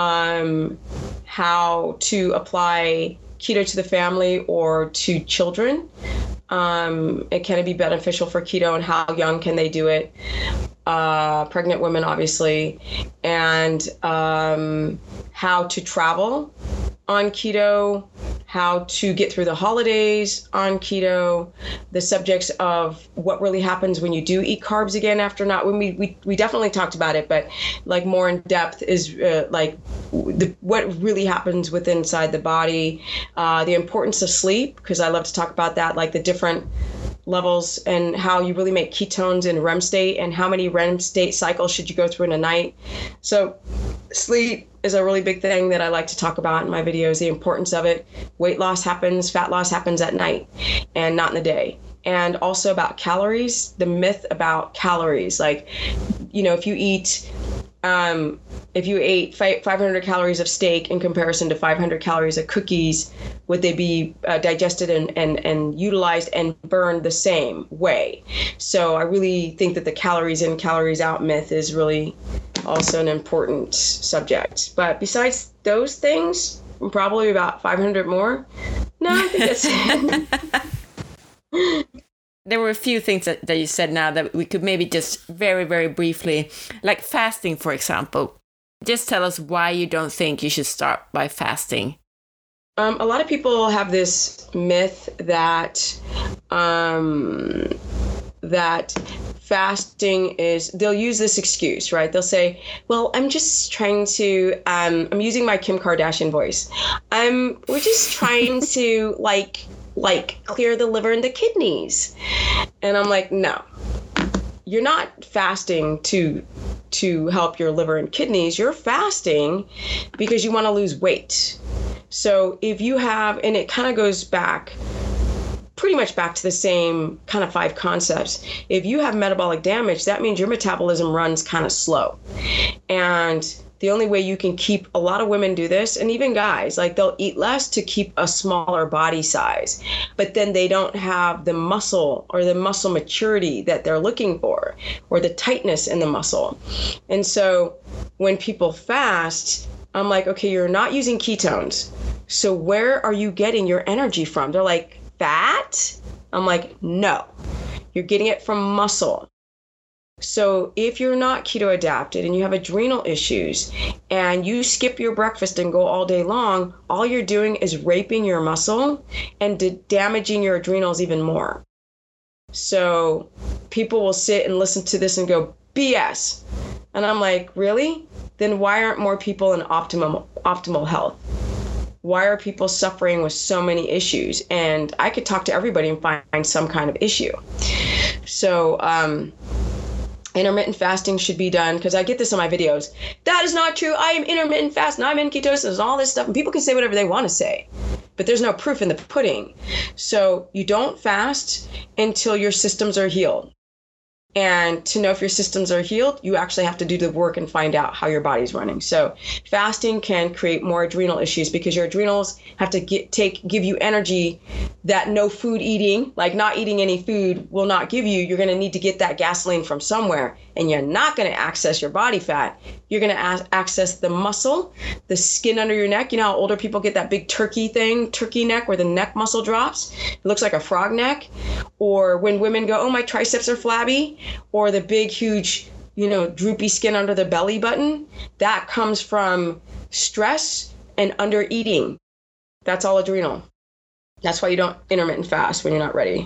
how to apply keto to the family or to children. It can be beneficial for keto, and how young can they do it? Pregnant women, obviously, and how to travel on keto, how to get through the holidays on keto, the subjects of what really happens when you do eat carbs again after not. When we definitely talked about it, but like more in depth is what really happens within inside the body, the importance of sleep, because I love to talk about that, like the different levels and how you really make ketones in REM state, and how many REM state cycles should you go through in a night. So sleep is a really big thing that I like to talk about in my videos, the importance of it. Weight loss happens, fat loss happens at night and not in the day. And also about calories, the myth about calories. Like, if you ate 500 calories of steak in comparison to 500 calories of cookies, would they be digested and utilized and burned the same way? So I really think that the calories in, calories out myth is really also an important subject. But besides those things, probably about 500 more. No, I think that's it. There were a few things that you said now that we could maybe just very, very briefly, like fasting, for example. Just tell us why you don't think you should start by fasting. A lot of people have this myth that fasting is, they'll use this excuse, right? They'll say, well, I'm just trying to, I'm using my Kim Kardashian voice. We're just trying to like clear the liver and the kidneys. And I'm like, no, you're not fasting to help your liver and kidneys. You're fasting because you want to lose weight. So if you have, and it kind of goes pretty much back to the same kind of 5 concepts. If you have metabolic damage, that means your metabolism runs kind of slow. And the only way you can keep, a lot of women do this, and even guys, like they'll eat less to keep a smaller body size, but then they don't have the muscle or the muscle maturity that they're looking for, or the tightness in the muscle. And so when people fast, I'm like, okay, you're not using ketones. So where are you getting your energy from? They're like, fat? I'm like, no, you're getting it from muscle. So if you're not keto adapted and you have adrenal issues and you skip your breakfast and go all day long, all you're doing is raping your muscle and damaging your adrenals even more. So people will sit and listen to this and go, BS. And I'm like, really? Then why aren't more people in optimal health? Why are people suffering with so many issues? And I could talk to everybody and find some kind of issue. So, intermittent fasting should be done, because I get this in my videos. That is not true. I am intermittent fasting. I'm in ketosis and all this stuff. And people can say whatever they want to say, but there's no proof in the pudding. So you don't fast until your systems are healed. And to know if your systems are healed, you actually have to do the work and find out how your body's running. So fasting can create more adrenal issues because your adrenals have to give you energy that no food eating, like not eating any food, will not give you. You're going to need to get that gasoline from somewhere, and you're not going to access your body fat. You're going to access the muscle, the skin under your neck. You know how older people get that big turkey neck, where the neck muscle drops? It looks like a frog neck. Or when women go, oh, my triceps are flabby, or the big, huge, droopy skin under the belly button. That comes from stress and under eating. That's all adrenal. That's why you don't intermittent fast when you're not ready.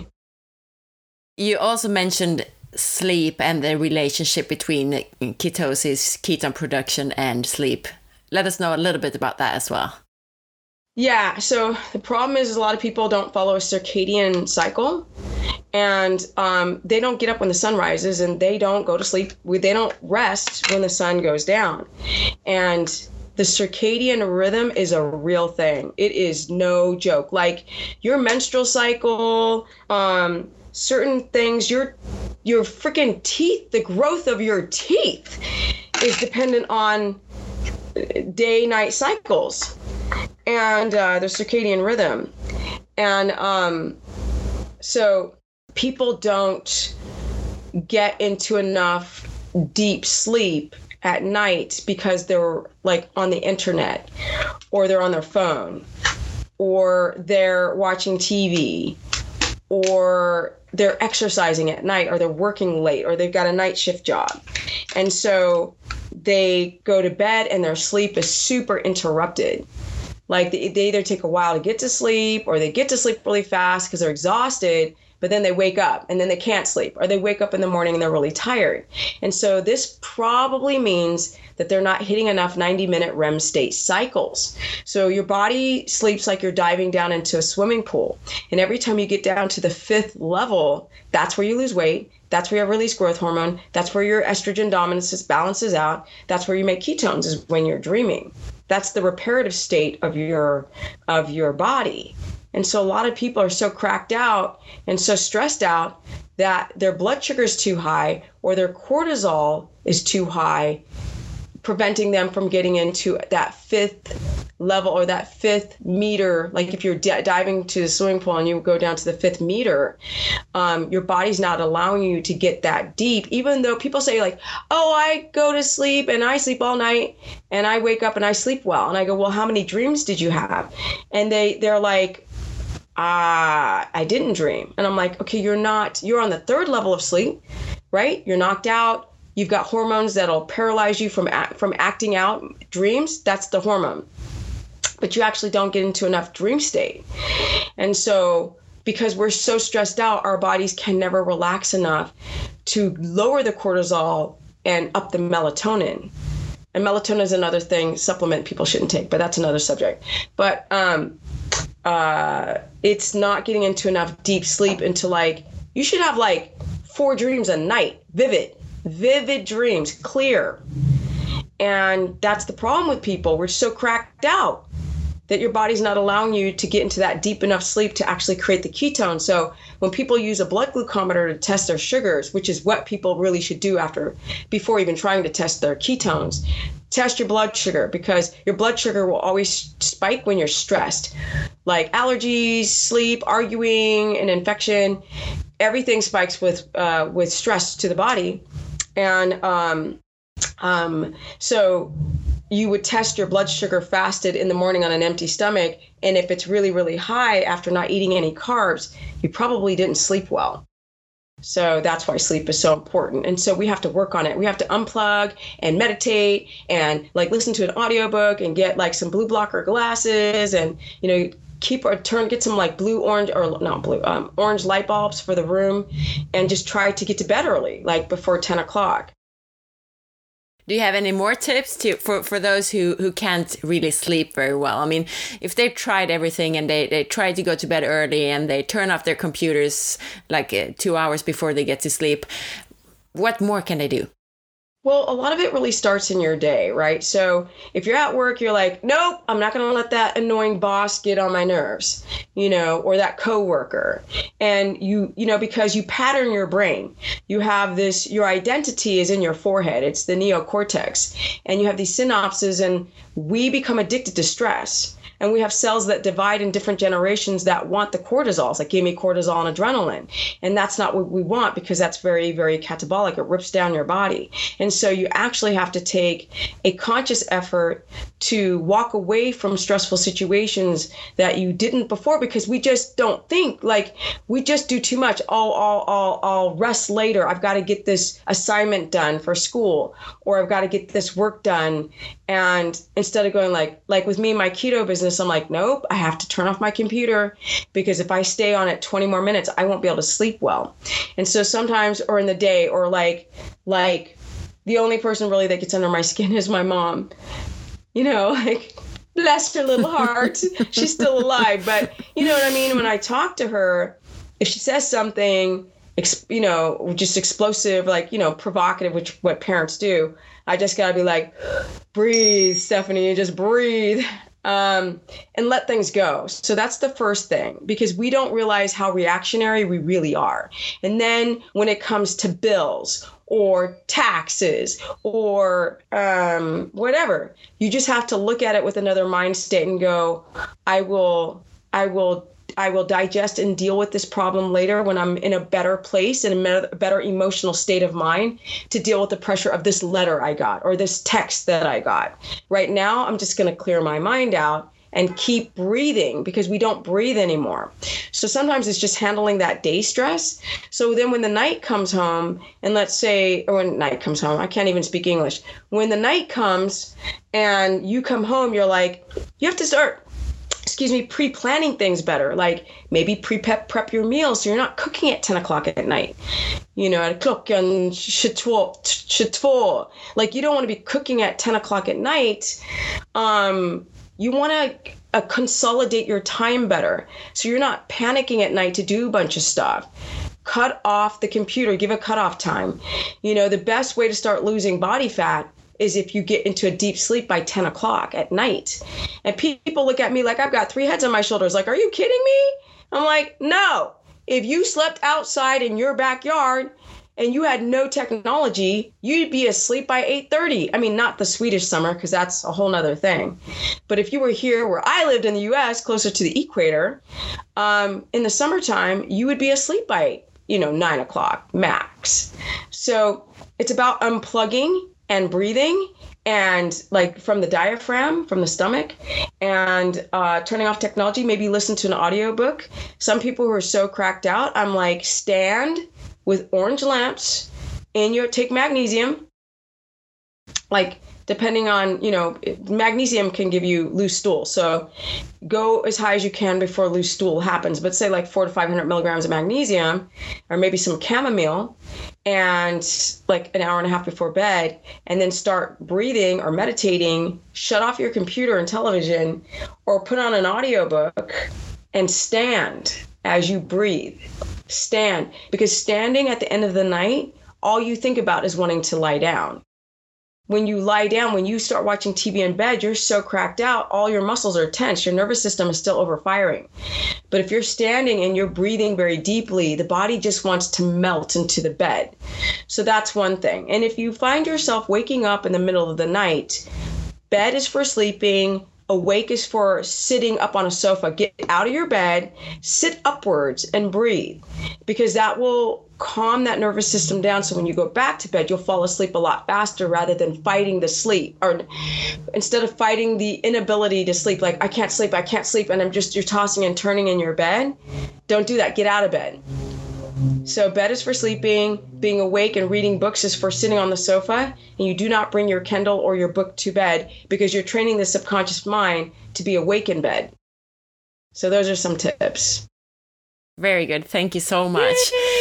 You also mentioned sleep and the relationship between ketosis, ketone production, and sleep. Let us know a little bit about that as well. Yeah, so the problem is a lot of people don't follow a circadian cycle, and they don't get up when the sun rises, and they don't go to sleep. They don't rest when the sun goes down. And the circadian rhythm is a real thing. It is no joke. Like your menstrual cycle, certain things, your freaking teeth, the growth of your teeth is dependent on day-night cycles and the circadian rhythm. And so people don't get into enough deep sleep at night because they're like on the internet, or they're on their phone, or they're watching TV, or they're exercising at night, or they're working late, or they've got a night shift job. And so they go to bed and their sleep is super interrupted. Like they either take a while to get to sleep, or they get to sleep really fast because they're exhausted, but then they wake up and then they can't sleep, or they wake up in the morning and they're really tired. And so this probably means that they're not hitting enough 90-minute REM state cycles. So your body sleeps like you're diving down into a swimming pool. And every time you get down to the 5th level, that's where you lose weight. That's where you release growth hormone. That's where your estrogen dominance balances out. That's where you make ketones, is when you're dreaming. That's the reparative state of your body. And so a lot of people are so cracked out and so stressed out that their blood sugar is too high, or their cortisol is too high, preventing them from getting into that 5th level, or that 5th meter. Like if you're diving to the swimming pool and you go down to the 5th meter, your body's not allowing you to get that deep, even though people say like, oh, I go to sleep and I sleep all night and I wake up and I sleep well. And I go, well, how many dreams did you have? And they're like, I didn't dream. And I'm like, okay, you're on the 3rd level of sleep, right? You're knocked out. You've got hormones that'll paralyze you from acting out dreams. That's the hormone. But you actually don't get into enough dream state. And so because we're so stressed out, our bodies can never relax enough to lower the cortisol and up the melatonin. And melatonin is another supplement people shouldn't take, but that's another subject. But it's not getting into enough deep sleep until you should have 4 dreams a night, vivid dreams, clear. And that's the problem with people. We're so cracked out that your body's not allowing you to get into that deep enough sleep to actually create the ketone. So when people use a blood glucometer to test their sugars, which is what people really should do before even trying to test their ketones, test your blood sugar, because your blood sugar will always spike when you're stressed. Like allergies, sleep, arguing, an infection, everything spikes with stress to the body. And so you would test your blood sugar fasted in the morning on an empty stomach. And if it's really, really high after not eating any carbs, you probably didn't sleep well. So that's why sleep is so important. And so we have to work on it. We have to unplug and meditate and like listen to an audiobook and get like some blue blocker glasses and, you know, get some like orange light bulbs for the room and just try to get to bed early, like before 10 o'clock. Do you have any more tips for those who can't really sleep very well? I mean, if they've tried everything and they try to go to bed early and they turn off their computers like 2 hours before they get to sleep, what more can they do? Well, a lot of it really starts in your day, right? So if you're at work, you're like, nope, I'm not going to let that annoying boss get on my nerves, you know, or that coworker. And you know, because you pattern your brain, you have this, your identity is in your forehead. It's the neocortex. And you have these synapses, and we become addicted to stress. And we have cells that divide in different generations that want the cortisols, like give me cortisol and adrenaline. And that's not what we want, because that's very, very catabolic. It rips down your body. And so you actually have to take a conscious effort to walk away from stressful situations that you didn't before, because we just don't think, like we just do too much. I'll rest later. I've got to get this assignment done for school, or I've got to get this work done. And instead of going like with me, my keto business, I'm like, nope, I have to turn off my computer, because if I stay on it 20 more minutes, I won't be able to sleep well. And so sometimes, or in the day, or like the only person really that gets under my skin is my mom, you know, like bless her little heart. She's still alive. But you know what I mean? When I talk to her, if she says something, you know, just explosive, like, you know, provocative, which what parents do, I just got to be like, breathe, Stephanie, just breathe. And let things go. So that's the first thing, because we don't realize how reactionary we really are. And then when it comes to bills or taxes or whatever, you just have to look at it with another mind state and go, I will digest and deal with this problem later when I'm in a better place and a better emotional state of mind to deal with the pressure of this letter I got or this text that I got. Right now, I'm just going to clear my mind out and keep breathing, because we don't breathe anymore. So sometimes it's just handling that day stress. So then when the night comes home, and let's say, or when night comes home, I can't even speak English. When the night comes and you come home, you're like, you have to start pre-planning things better. Like maybe prep your meals so you're not cooking at 10 o'clock at night. You know, at klockan 22. Like you don't want to be cooking at 10 o'clock at night. You want to consolidate your time better, so you're not panicking at night to do a bunch of stuff. Cut off the computer, give a cutoff time. You know, the best way to start losing body fat is if you get into a deep sleep by 10 o'clock at night. And people look at me like I've got 3 heads on my shoulders. Like, are you kidding me? I'm like, no. If you slept outside in your backyard and you had no technology, you'd be asleep by 8:30. I mean, not the Swedish summer, because that's a whole nother thing. But if you were here where I lived in the US, closer to the equator, in the summertime, you would be asleep by, 9 o'clock max. So it's about unplugging and breathing, and like from the diaphragm, from the stomach, and turning off technology. Maybe listen to an audiobook. Some people who are so cracked out, I'm like, stand with orange lamps take magnesium, like depending on, magnesium can give you loose stool. So go as high as you can before loose stool happens. But say like 400 to 500 milligrams of magnesium, or maybe some chamomile, and like an hour and a half before bed, and then start breathing or meditating. Shut off your computer and television, or put on an audiobook and stand as you breathe. Stand, because standing at the end of the night, all you think about is wanting to lie down. when you lie down, when you start watching TV in bed, you're so cracked out, all your muscles are tense, your nervous system is still overfiring. But if you're standing and you're breathing very deeply, the body just wants to melt into the bed. So that's one thing. And if you find yourself waking up in the middle of the night, bed is for sleeping, awake is for sitting up on a sofa. Get out of your bed, sit upwards and breathe, because that will calm that nervous system down. So when you go back to bed, you'll fall asleep a lot faster rather than fighting the sleep, or instead of fighting the inability to sleep, like I can't sleep, and you're tossing and turning in your bed. Don't do that. Get out of bed. So bed is for sleeping, being awake and reading books is for sitting on the sofa, and you do not bring your Kindle or your book to bed because you're training the subconscious mind to be awake in bed. So those are some tips. Very good. Thank you so much.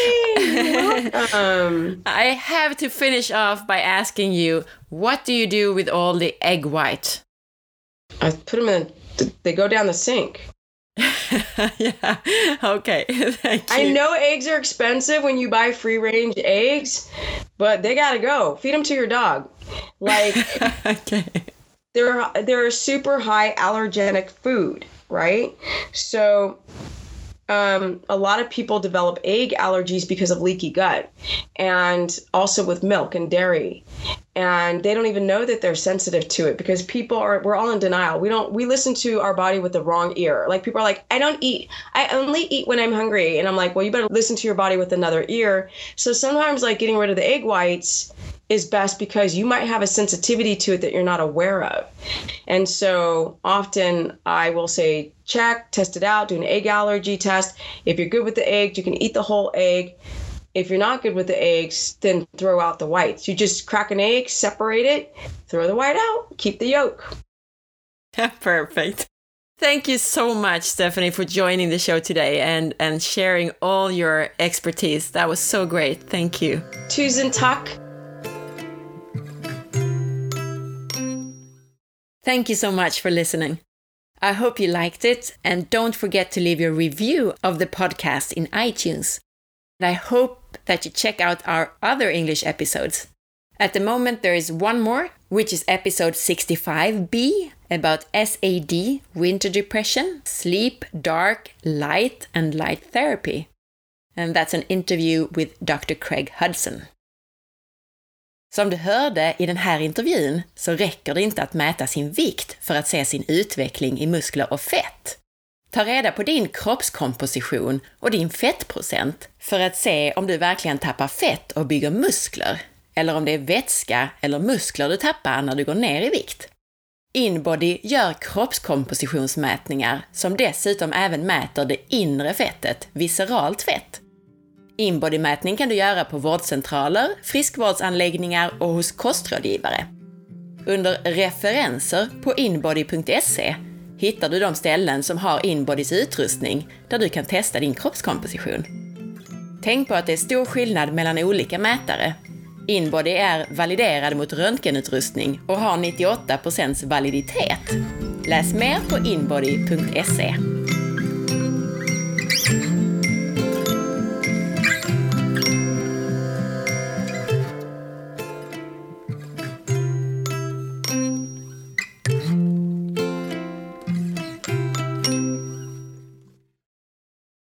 I have to finish off by asking you, what do you do with all the egg white? I put them they go down the sink. Yeah. Okay. Thank you. I know eggs are expensive when you buy free range eggs, but they gotta go. Feed them to your dog. Like, okay. They're a super high allergenic food, right? So a lot of people develop egg allergies because of leaky gut, and also with milk and dairy. And they don't even know that they're sensitive to it because we're all in denial. We listen to our body with the wrong ear. Like, people are like, I only eat when I'm hungry. And I'm like, well, you better listen to your body with another ear. So sometimes, like, getting rid of the egg whites is best because you might have a sensitivity to it that you're not aware of. And so often I will say, test it out, do an egg allergy test. If you're good with the egg, you can eat the whole egg. If you're not good with the eggs, then throw out the whites. You just crack an egg, separate it, throw the white out, keep the yolk. Perfect. Thank you so much, Stephanie, for joining the show today and sharing all your expertise. That was so great. Thank you. Tusen tack. Thank you so much for listening. I hope you liked it, and don't forget to leave your review of the podcast in iTunes. And I hope that you check out our other English episodes. At the moment, there is one more, which is episode 65B, about SAD, winter depression, sleep, dark, light, and light therapy. And that's an interview with Dr. Craig Hudson. Som du hörde i den här intervjun så räcker det inte att mäta sin vikt för att se sin utveckling i muskler och fett. Ta reda på din kroppskomposition och din fettprocent för att se om du verkligen tappar fett och bygger muskler, eller om det är vätska eller muskler du tappar när du går ner i vikt. InBody gör kroppskompositionsmätningar som dessutom även mäter det inre fettet, visceralt fett. InBody-mätning kan du göra på vårdcentraler, friskvårdsanläggningar och hos kostrådgivare. Under referenser på inbody.se hittar du de ställen som har InBodys utrustning där du kan testa din kroppskomposition. Tänk på att det är stor skillnad mellan olika mätare. InBody är validerad mot röntgenutrustning och har 98% validitet. Läs mer på inbody.se.